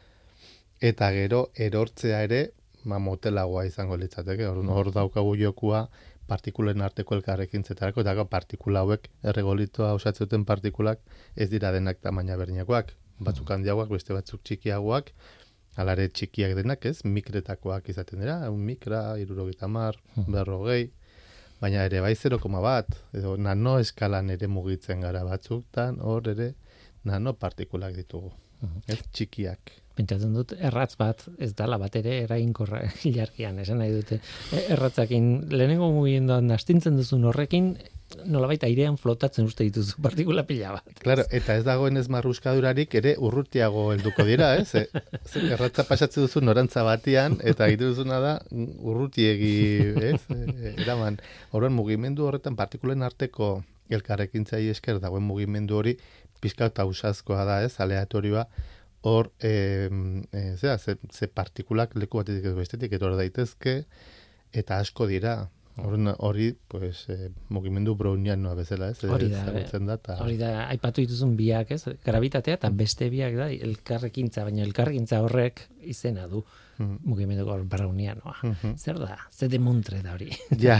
Eta gero, erortzea ere, ma motelagoa izango litzateke. Hor, hor daukagu jokua, partikulen arteko elkarrekintzetarako, eta partikula hauek erregolitoa osatzen partikulak ez dira denak tamaina berdinakoak, batzuk handiagoak, beste batzuk txikiagoak, alare txikiak denak, ez, mikretakoak izaten dira, un mikra, hirurogeita hamar, berrogei, baina ere bai zero koma bat, edo nano eskalan ere mugitzen gara batzuktan, hor ere nano partikulak ditugu, ez, txikiak. Pentsatzen dut, erratz bat, ez dala bat ere erainkorra ilargian, esan nahi dute. Erratzakin, lehenengo mugiendoan astintzen duzun horrekin, nolabait airean flotatzen uste dituzu partikula pila bat. Claro, eta ez dagoen ez marruskadurarik ere urrutiago helduko dira, ez? E, erratza pasatzen duzu norantza batian, eta egiten duzuna da urrutiegi, ez? E, eraman, horren mugimendu horretan partikulen arteko elkarrekintzai esker dagoen mugimendu hori pizka eta usazkoa da, ez? Aleatorioa, hor, e, e, zera, ze, ze partikulak leku batetik ez bestetik, eta hor daitezke, eta asko dira. Hori, pues, e, mugimendu brownianoa bezala, ez? Hori da, da, ta... hori da, aipatu dituzun biak, ez? Gravitatea, eta beste biak da, elkarrekintza, baina elkarrekintza horrek izena du, mm. mugimendu brownianoa. Mm-hmm. Zer da? Zer demontre da hori? Ja.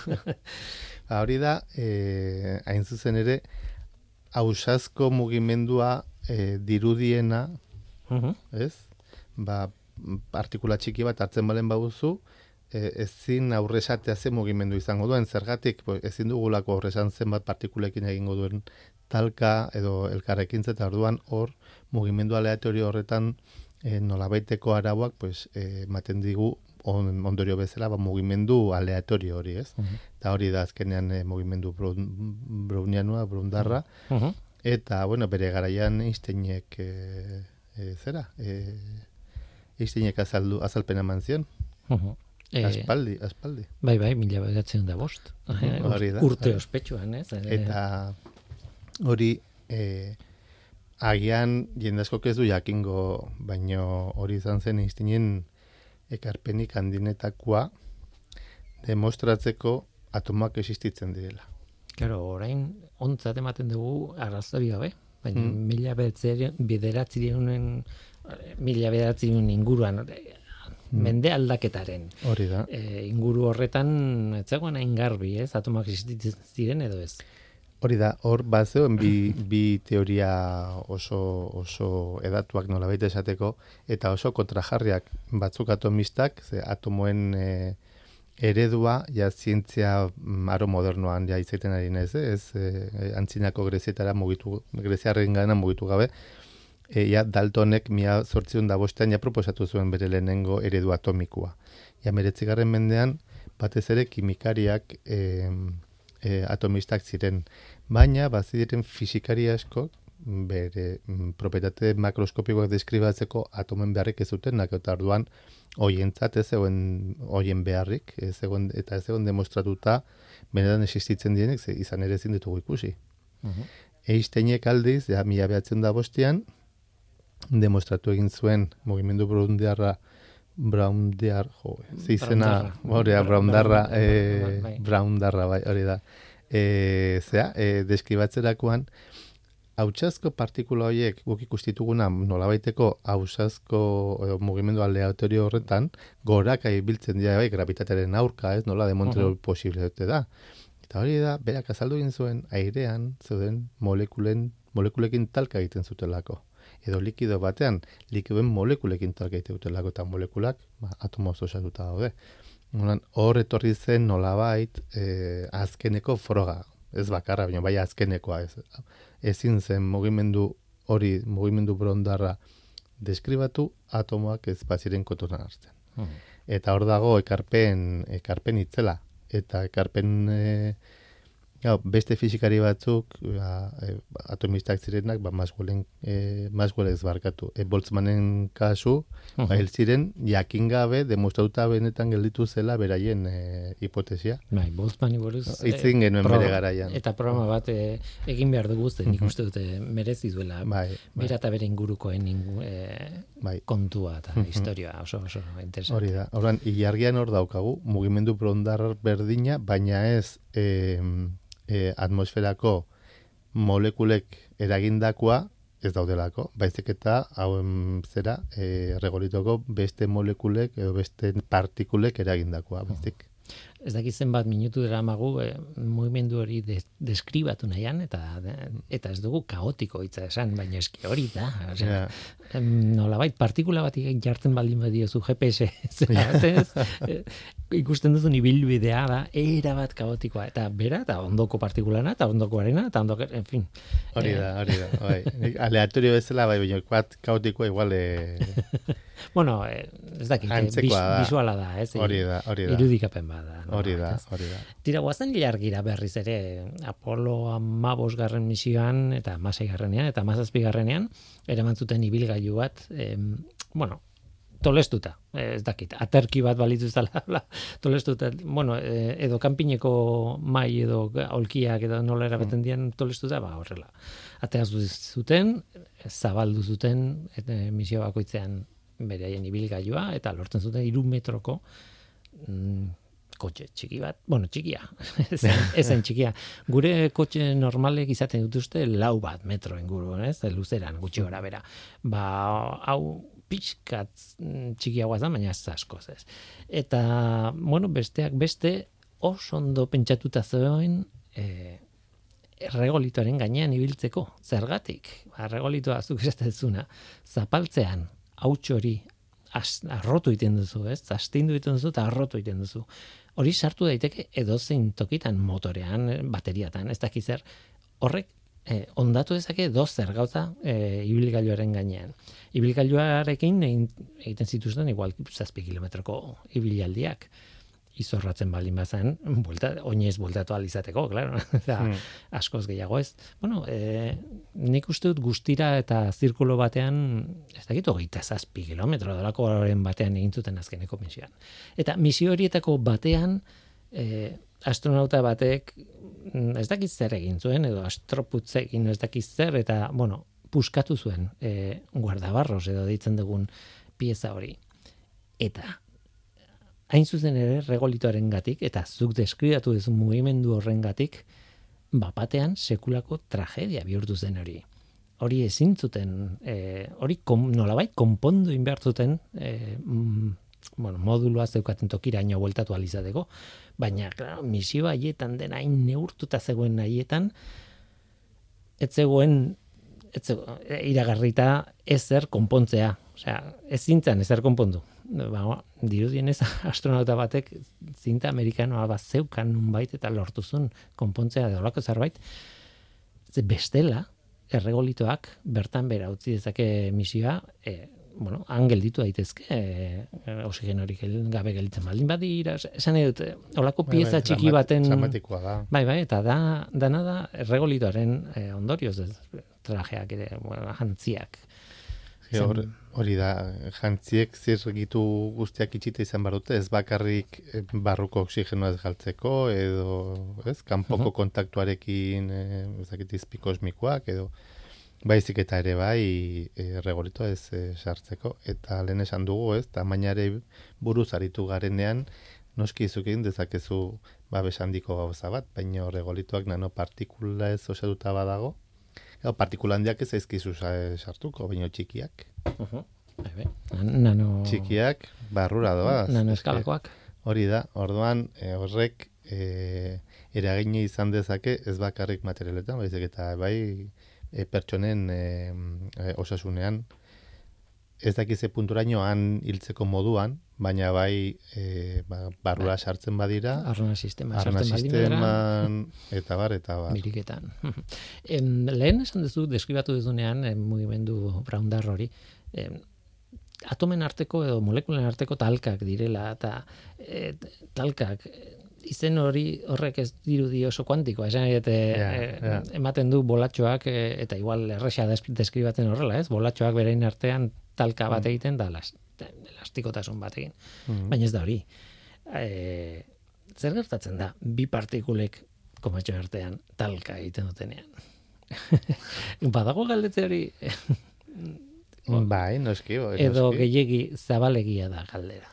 Hori da, e, hain zuzen ere, ausazko mugimendua e, dirudiena, uh-huh. ez? Ba, partikula txiki bat hartzen balen baduzu, e, ezin aurresatea ze mugimendu izango duen, zergatik, pues, ezin dugulako aurresan zenbat partikulekin egingo duen talka edo elkarrekintza, eta orduan hor mugimendu aleatorio horretan e, nolabaiteko arauak pues, e, maten digu on, ondorio bezala ba, mugimendu aleatorio hori, ez? Uh-huh. Eta hori da azkenean e, mugimendu brownianoa, brundarra, uh-huh. eta, bueno, bere garaian Einsteinek e, e, zera, e, Einsteinek azaldu, azalpena eman zion. Uh-huh. Aspaldi, aspaldi. Bai, bai, mila bederatziehun da bost. Uh-huh. Urte ospetsuan, ez? Eta hori, e, agian jendaskok ez du jakingo, baino hori izan zen Einsteinen ekarpenik handinetakoa demostratzeko atomoak existitzen direla. Claro, orain ontzat ematen dugu arrazoi gabe, baina mm. mila bederatzireun mila bederatzireun inguruan mm. mende aldaketaren. Hori da. E, inguru horretan ez zegoen hain garbi, ez? Atomoak existitzen ziren edo ez? Hori da, hor bazeoen bi, bi teoria oso, oso edatuak nolabait esateko, eta oso kontrajarriak batzuk atomistak, ze atomoen e, eredua, ja zientzia aro modernoan ja izaiten ari nez, ez, e, antzinako grezietara mugitu, greziarren gana mugitu gabe, e, ja Daltonek mila zortziehun da bostean ja proposatu zuen bere lehenengo eredu atomikoa. Ja meretzigarren mendean, batez ere kimikariak e, e, atomistak ziren, baina baziren fisikari asko bere propietate makroskopikoak deskribatzeko atomen beharrik ez zuten, eta orduan hoientzat ez zegoen hoien beharrik, ez zegoen, eta ez zegoen demostratuta benetan existitzen dienek, ze izan ere ezin ditugu ikusi. Uh-huh. Einsteinek aldiz, ja, mila behatzen da bostean, demostratu egin zuen mugimendu braundarra braundear, jo, zizena, hori da, braundarra, eh, braundarra, bai, hori da. E, zera, e, deskribatzerakoan, hautsazko partikula horiek guk ikustituguna nolabaiteko hautsazko mugimendu aleatorio horretan goraka ibiltzen dira bai gravitatearen aurka, ez nola demontratu uh-huh. posible da. Eta hori da, berak azaldu egin zuen airean zeuden molekulen molekulekin talka egiten zutelako. Edo likido batean likidoen molekulekin talka egiten zutelako eta molekulak ba, atomoz osatuta daude. Hor etorri zen nolabait eh, azkeneko froga. Ez bakarra, baina bai azkenekoa ez. Ezin zen mugimendu hori, mugimendu braundarra deskribatu atomoak ez baziren kontutan hartzen. Uh-huh. Eta hor dago ekarpen, ekarpen itzela. Eta ekarpen e, ja, beste fisikari batzuk ja, e, atomistak zirenak ba, Maxwellen, e, Maxwell ez barkatu. E, Boltzmannen kasu, uh-huh. ba, ziren jakin gabe demostratuta benetan gelditu zela beraien e, hipotesia. Bai, Boltzmanni buruz itzin genuen bere garaian. Eta programa bat e, egin behar dugu zen, nik uste dute merezi duela. Bai, bai. Bera eta bere ingurukoen ingu, e, bai. kontua eta uh-huh. historia oso oso interesante. Hori da. Orduan, ilargian hor daukagu mugimendu braundar berdina, baina ez e, E, atmosferako molekulek eragindakoa ez daudelako, baizik eta hauen zera e, regolitoko beste molekulek edo beste partikulek eragindakoa, baizik. Ez dakit zenbat minutu deramagu e, mugimendu hori de, deskribatu nahian, eta eta ez dugu kaotiko hitza esan, baina eski hori da. Osea, yeah. Nolabait partikula bat jartzen baldin badiozu G P S, ez, e, ikusten duzun ibilbidea da, era bat kaotikoa, eta bera, eta ondoko partikulana, eta ondokoarena, eta ondoko, en fin. Hori da, hori da, bai. Aleatorio bezala, bai, baina bat kaotikoa igual... E... Bueno, eh, ez dakit, bis, visuala da, ez? Hori da, hori da. Irudikapen bada. No? Hori da, hori da. Tira, guazen ilargira berriz ere, Apollo hamabosgarren misioan, eta hamaseigarrenean, eta hamazazpigarrenean, eraman zuten ibilgailu bat, eh, bueno, tolestuta, ez dakit, aterki bat balitu zala, tolestuta, bueno, eh, edo kanpineko mai edo aulkiak edo nola erabeten mm. dian tolestuta, ba, horrela. Ateaz zuten, zabaldu zuten, eta misio bakoitzean beraien ibilgailua, eta lortzen zuten hiru metroko mm, kotxe txiki bat, bueno, txikia, ezen txikia. Gure kotxe normalek izaten dituzte lau bat metro inguru, ez? Luzeran, gutxi gora bera. Ba, hau pixkat txikiagoa da, baina ez askoz, ez. Eta, bueno, besteak beste oso ondo pentsatuta zegoen eh, erregolitoaren gainean ibiltzeko. Zergatik? Ba, erregolitoa zuk esaten zuna, zapaltzean, hauts hori arrotu egiten duzu, ez? Astindu egiten duzu eta arrotu egiten duzu. Hori sartu daiteke edozein tokitan motorean, bateriatan, ez dakiz zer. Horrek eh, ondatu dezake dozer gauza eh, ibilgailuaren gainean. Ibilgailuarekin egiten zituzten igual zazpi kilometroko ibilaldiak. Izorratzen baldin bazan, buelta, oinez bueltatu alizateko, claro. Da, hmm. askoz gehiago ez. Bueno, e, nik uste dut guztira eta zirkulo batean, ez dakit hogeita zazpi kilometro dolako horren batean egin zuten azkeneko misioan. Eta misio horietako batean, e, astronauta batek, ez dakit zer egin zuen, edo astroputzekin ez dakit zer, eta, bueno, puskatu zuen e, guardabarros edo deitzen dugun pieza hori. Eta, hain zuzen ere regolitoaren gatik, eta zuk deskribatu duzu mugimendu horren gatik, bapatean sekulako tragedia bihurtu zen hori. Hori ezin zuten, e, hori kom, nolabait konpondu inbertzuten, e, mm, bueno, modulua zeukaten tokiraino bueltatu alizateko, baina, claro, misio haietan dena hain neurtuta zegoen haietan, ez zegoen, ez zegoen, iragarrita ezer konpontzea. Osea, ez zintzen ezer konpondu. Ba, dirudienez astronauta batek zinta amerikanoa bat zeukan nunbait eta lortuzun konpontzea deolako zerbait. Bestela, erregolitoak bertan bera utzi dezake misioa, e, bueno, han gelditu daitezke, e, oxigenorik gabe gelditzen baldin badira, esan edut, holako pieza txiki baten... Dramatikoa da. Bai, bai, eta da, dana da erregolitoaren e, ondorioz, ez, trajeak ere, bueno, jantziak. Hor, hori da, jantziek zirgitu guztiak itxita izan barute, ez bakarrik barruko oxigenoa ez galtzeko, edo, ez, kanpoko uh-huh. kontaktuarekin, ez dakit izpikosmikoak, edo, baizik eta ere bai, e, regolitoa ez e, sartzeko, eta lehen esan dugu, ez, tamainare buruz aritu garenean, noski izukin dezakezu babes handiko gauza bat, baina regolitoak nanopartikula ez osatuta badago, partikula handiak ez aizkizu sartuko, baina txikiak. Uh-huh. Nano... Txikiak barrura doaz. Nano eskalakoak. Hori da, orduan e, horrek e, eragine izan dezake ez bakarrik materialetan, baizik eta bai e, pertsonen e, e, osasunean. Ez dakize punturaino han hiltzeko moduan, baina bai e, ba, barrura sartzen badira. Arna sistema arna sartzen sisteman, eta bar, eta bar. Biriketan. em, lehen esan duzu, deskribatu duzunean, em, mugimendu braundar hori, em, atomen arteko edo molekulen arteko talkak direla, eta e, talkak, izen hori horrek ez dirudi oso kuantikoa, esan eta yeah, yeah. ematen du bolatxoak, e, eta igual erresa deskribatzen horrela, ez? Bolatxoak berein artean talka bat egiten da, las, elastikotasun bat egin. Mm. Baina ez da hori. E, zer gertatzen da, bi partikulek komatxo artean talka egiten dutenean? Badago galdetze hori... bai, noski. noski. Edo gehiegi zabalegia da galdera.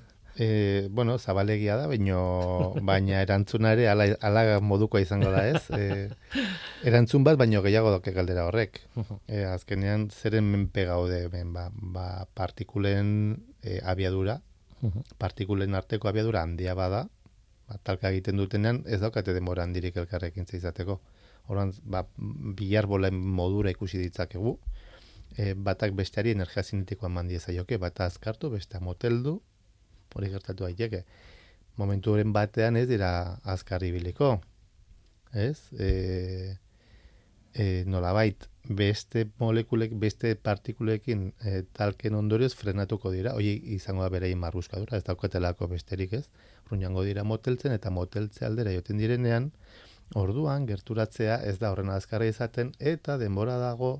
E, bueno, zabalegia da, baino, baina erantzuna ere ala, ala modukoa izango da, ez? E, erantzun bat, baino gehiago doke galdera horrek. E, azkenean, zeren menpe gaude, ben, ba, ba, partikulen e, abiadura, partikulen arteko abiadura handia bada, ba, talka egiten dutenean, ez daukate denbora handirik elkarrekin izateko. Horan, ba, bilarbolen modura ikusi ditzakegu, e, batak besteari energia zinetikoa eman diezaioke, bata azkartu, bestea moteldu, hori gertatu daiteke. Momenturen batean ez dira azkar ibiliko. Ez? E, e, nolabait, beste molekulek, beste partikulekin e, talken ondorioz frenatuko dira. Hori izango da berein marruskadura, ez daukatelako besterik ez. Ruñango dira moteltzen eta moteltze aldera joten direnean, orduan gerturatzea ez da horren azkarra izaten eta denbora dago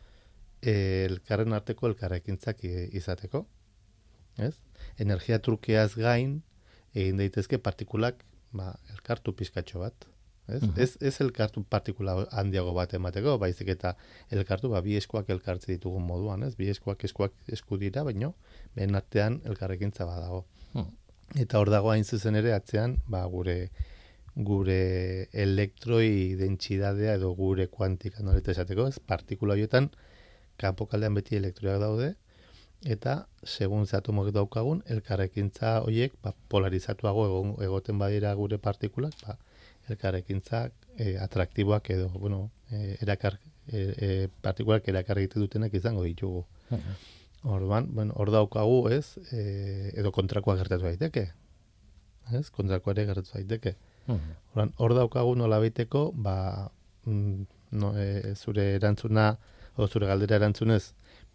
e, elkarren arteko elkarrekintzak izateko. Ez? Energia trukeaz gain egin daitezke partikulak ba, elkartu pizkatxo bat. Ez? Uh-huh. ez, ez elkartu partikula handiago bat emateko, baizik eta elkartu ba, bi eskuak elkartze ditugun moduan. Ez? Bi eskuak eskuak esku dira, baino behen artean elkarrekintza badago. Uh-huh. Eta hor dago hain zuzen ere atzean ba, gure gure elektroi dentsidadea edo gure kuantika noleta esateko, ez? Partikula horietan kanpokaldean beti elektroiak daude, eta segun ze atomok daukagun, elkarrekintza horiek ba, polarizatuago egon, egoten badira gure partikulak, ba, elkarrekintza e, atraktiboak edo, bueno, e, erakar, e, e, partikulak erakar egiten dutenak izango ditugu. Uh-huh. Orduan, bueno, hor daukagu, ez, e, edo kontrakoa gertatu daiteke. Ez, kontrakoa ere gertatu daiteke. Uh-huh. Orduan, hor daukagu nola baiteko, ba, no, e, zure erantzuna, o zure galdera erantzunez,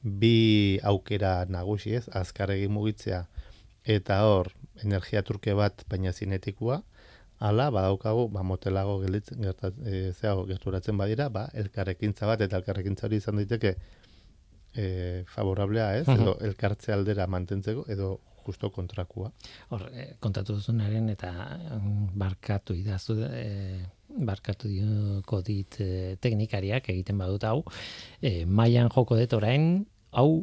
bi aukera nagusi, ez, azkarregi mugitzea eta hor energia turke bat baina zinetikua, ala badaukagu ba motelago gelditzen gertat e, zeago gerturatzen badira, ba elkarrekintza bat eta elkarrekintza hori izan daiteke e, favorablea, ez, edo elkartze aldera mantentzeko edo justo kontrakua. Hor, e, kontatu duzunaren eta barkatu idazu e, barkatu dioko dit e, teknikariak egiten badut hau, e, mailan joko dut orain, hau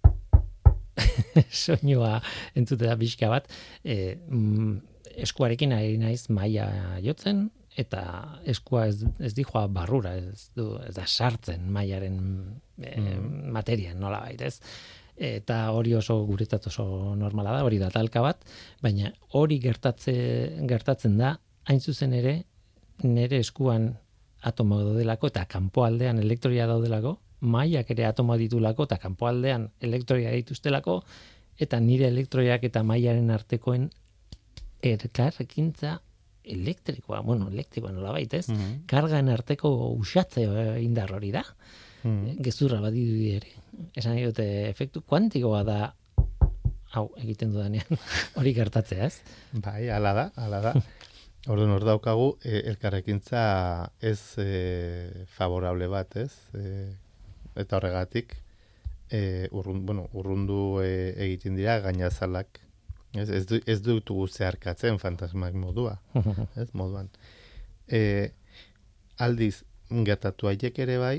soinua entzute da pixka bat, e, mm, eskuarekin ari naiz maila jotzen, eta eskua ez, ez dijoa barrura, ez, du, ez da sartzen mailaren e, mm. materian, nola bait, ez? Eta hori oso guretzat oso normala da, hori da talka bat, baina hori gertatze, gertatzen da, hain zuzen ere, nere eskuan atomo daudelako eta kanpoaldean elektroia daudelako, mailak ere atomo ditulako eta kanpoaldean elektroia dituztelako, eta nire elektroiak eta mailaren artekoen elkarrekintza elektrikoa, bueno, elektrikoa nola baitez, mm-hmm. kargan arteko usatze indar hori da. mm. gezurra badirudi ere. Esan dute efektu kuantikoa da hau egiten dudanean hori gertatzea, ez? Bai, hala da, hala da. Orduan hor daukagu e, elkarrekintza ez e, favorable bat, ez? E, eta horregatik e, urrun, bueno, urrundu e, egiten dira gainazalak. Ez, ez, du, ez dutugu zeharkatzen fantasmak modua, ez moduan. E, aldiz, gertatu haiek ere bai,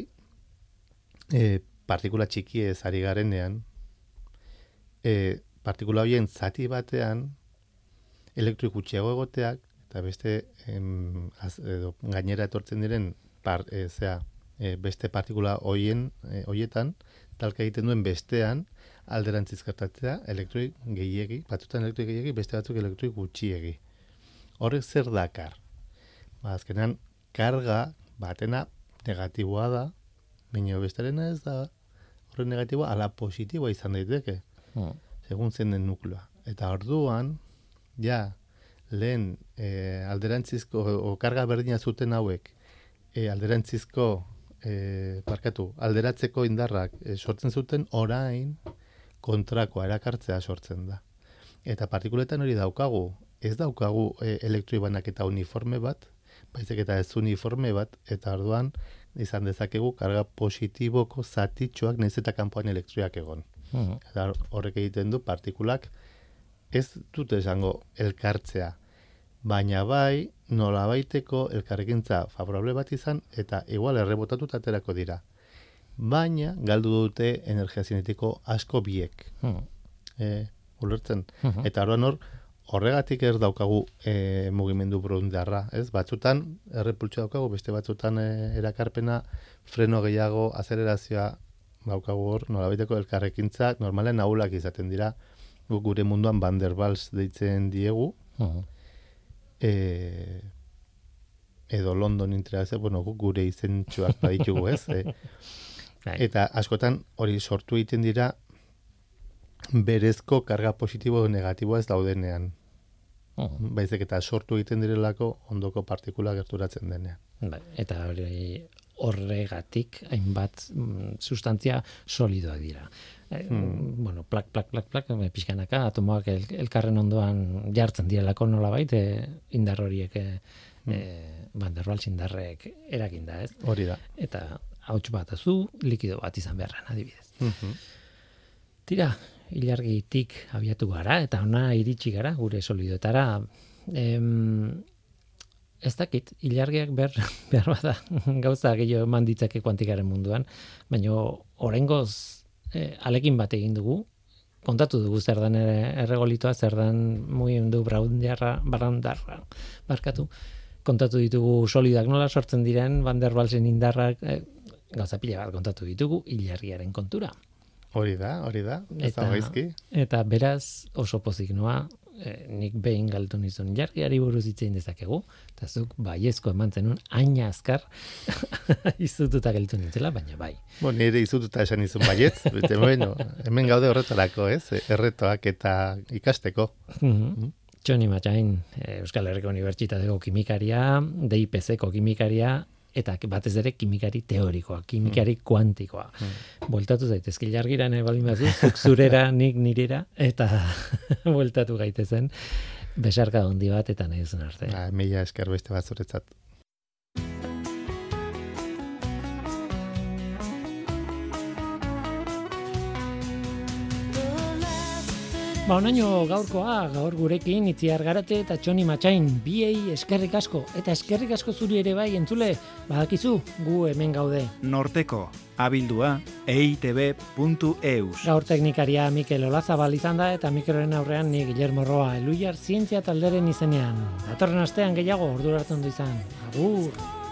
e, partikula txiki ez ari garenean, e, partikula horien zati batean elektroik gutxiago egoteak eta beste em, az, edo, gainera etortzen diren par, e, zera, e, beste partikula horien e, horietan talka egiten duen bestean alderantziz gertatzea elektroik gehiegi, batzutan elektroik gehiegi, beste batzuk elektroik gutxiegi. Horrek zer dakar? Ba, azkenean karga batena negatiboa da, baina bestarena ez da horren negatiboa ala positiboa izan daiteke. Hmm. Segun zen den nukleoa. Eta orduan, ja, lehen e, alderantzizko, o karga berdina zuten hauek, e, alderantzizko, e, parkatu, alderatzeko indarrak e, sortzen zuten, orain kontrakoa erakartzea sortzen da. Eta partikuletan hori daukagu, ez daukagu e, elektroi banaketa uniforme bat, baizik eta ez uniforme bat, eta orduan izan dezakegu karga positiboko zatitxoak nahiz eta kanpoan elektroiak egon. Uh-huh. Eta horrek egiten du partikulak ez dute esango elkartzea, baina bai nolabaiteko elkarrekintza favorable bat izan eta igual errebotatuta aterako dira. Baina galdu dute energia zinetiko asko biek. Uh-huh. E, ulertzen. Uh-huh. Eta orduan hor horregatik ez daukagu e, mugimendu burundarra, ez? Batzutan errepultxo daukagu, beste batzutan e, erakarpena, freno gehiago, azelerazioa daukagu hor, nolabaiteko elkarrekintza normalen ahulak izaten dira, gure munduan Van der Waals deitzen diegu, uh-huh. e, edo London interakzio, bueno, gure izentxuak baditugu, ez? E, eta askotan hori sortu egiten dira berezko karga positibo edo negatiboa ez daudenean. Uh-huh. Baizik eta sortu egiten direlako ondoko partikula gerturatzen denean. Bai, eta hori horregatik hainbat mm, sustantzia solidoak dira. Hmm. Bueno, plak, plak, plak, plak, pixkanaka, atomoak el, elkarren ondoan jartzen direlako nolabait, e, indar horiek, e, hmm. e, Van der Waals indarrek erakinda, ez? Hori da. Eta hauts bat azu, likido bat izan beharran, adibidez. Hmm. Tira, ilargitik abiatu gara, eta ona iritsi gara, gure solidoetara, em, ez dakit, ilargiak behar, behar bada gauza gehiago eman ditzake kuantikaren munduan, baina oraingoz e, alekin bat egin dugu, kontatu dugu zer dan erregolitoa, zer dan mugimendu braundarra, barandarra, barkatu, kontatu ditugu solidak nola sortzen diren, Van der Waalsen indarrak, e, gauza pila bat kontatu ditugu, ilargiaren kontura. Hori da, hori da, ez da gaizki. Eta beraz oso pozik noa, E, nik behin galtu nizun ilargiari buruz hitzein dezakegu, eta zuk baiezko eman zenun aina azkar izututa geltu nintzela, baina bai. Bo, nire izututa esan izun baietz, bete, bueno, hemen gaude horretarako, ez? Erretoak eta ikasteko. Mm-hmm. Txoni Matxain, Euskal Herriko Unibertsitateko kimikaria, D I P C-ko kimikaria, eta batez ere kimikari teorikoa, kimikari mm. kuantikoa. Mm. Bueltatu zaitezke ilargira nahi baldin bazu, zuk zurera, nik nirera, eta bueltatu gaitezen, besarka handi bat eta nahi duzun arte. Ah, mila esker beste bat zuretzat. Ba, onaino gaurkoa, gaur gurekin Itziar Garate eta Txoni Matxain, biei eskerrik asko, eta eskerrik asko zuri ere bai, entzule, badakizu, gu hemen gaude. Norteko, abildua, e i te be puntu e u s. Gaur teknikaria Mikel Olazabal izan da, eta Mikelren aurrean ni Guillermo Roa, Eluyar zientzia talderen izenean. Datorren astean gehiago, ordura hartu ondo izan. Agur!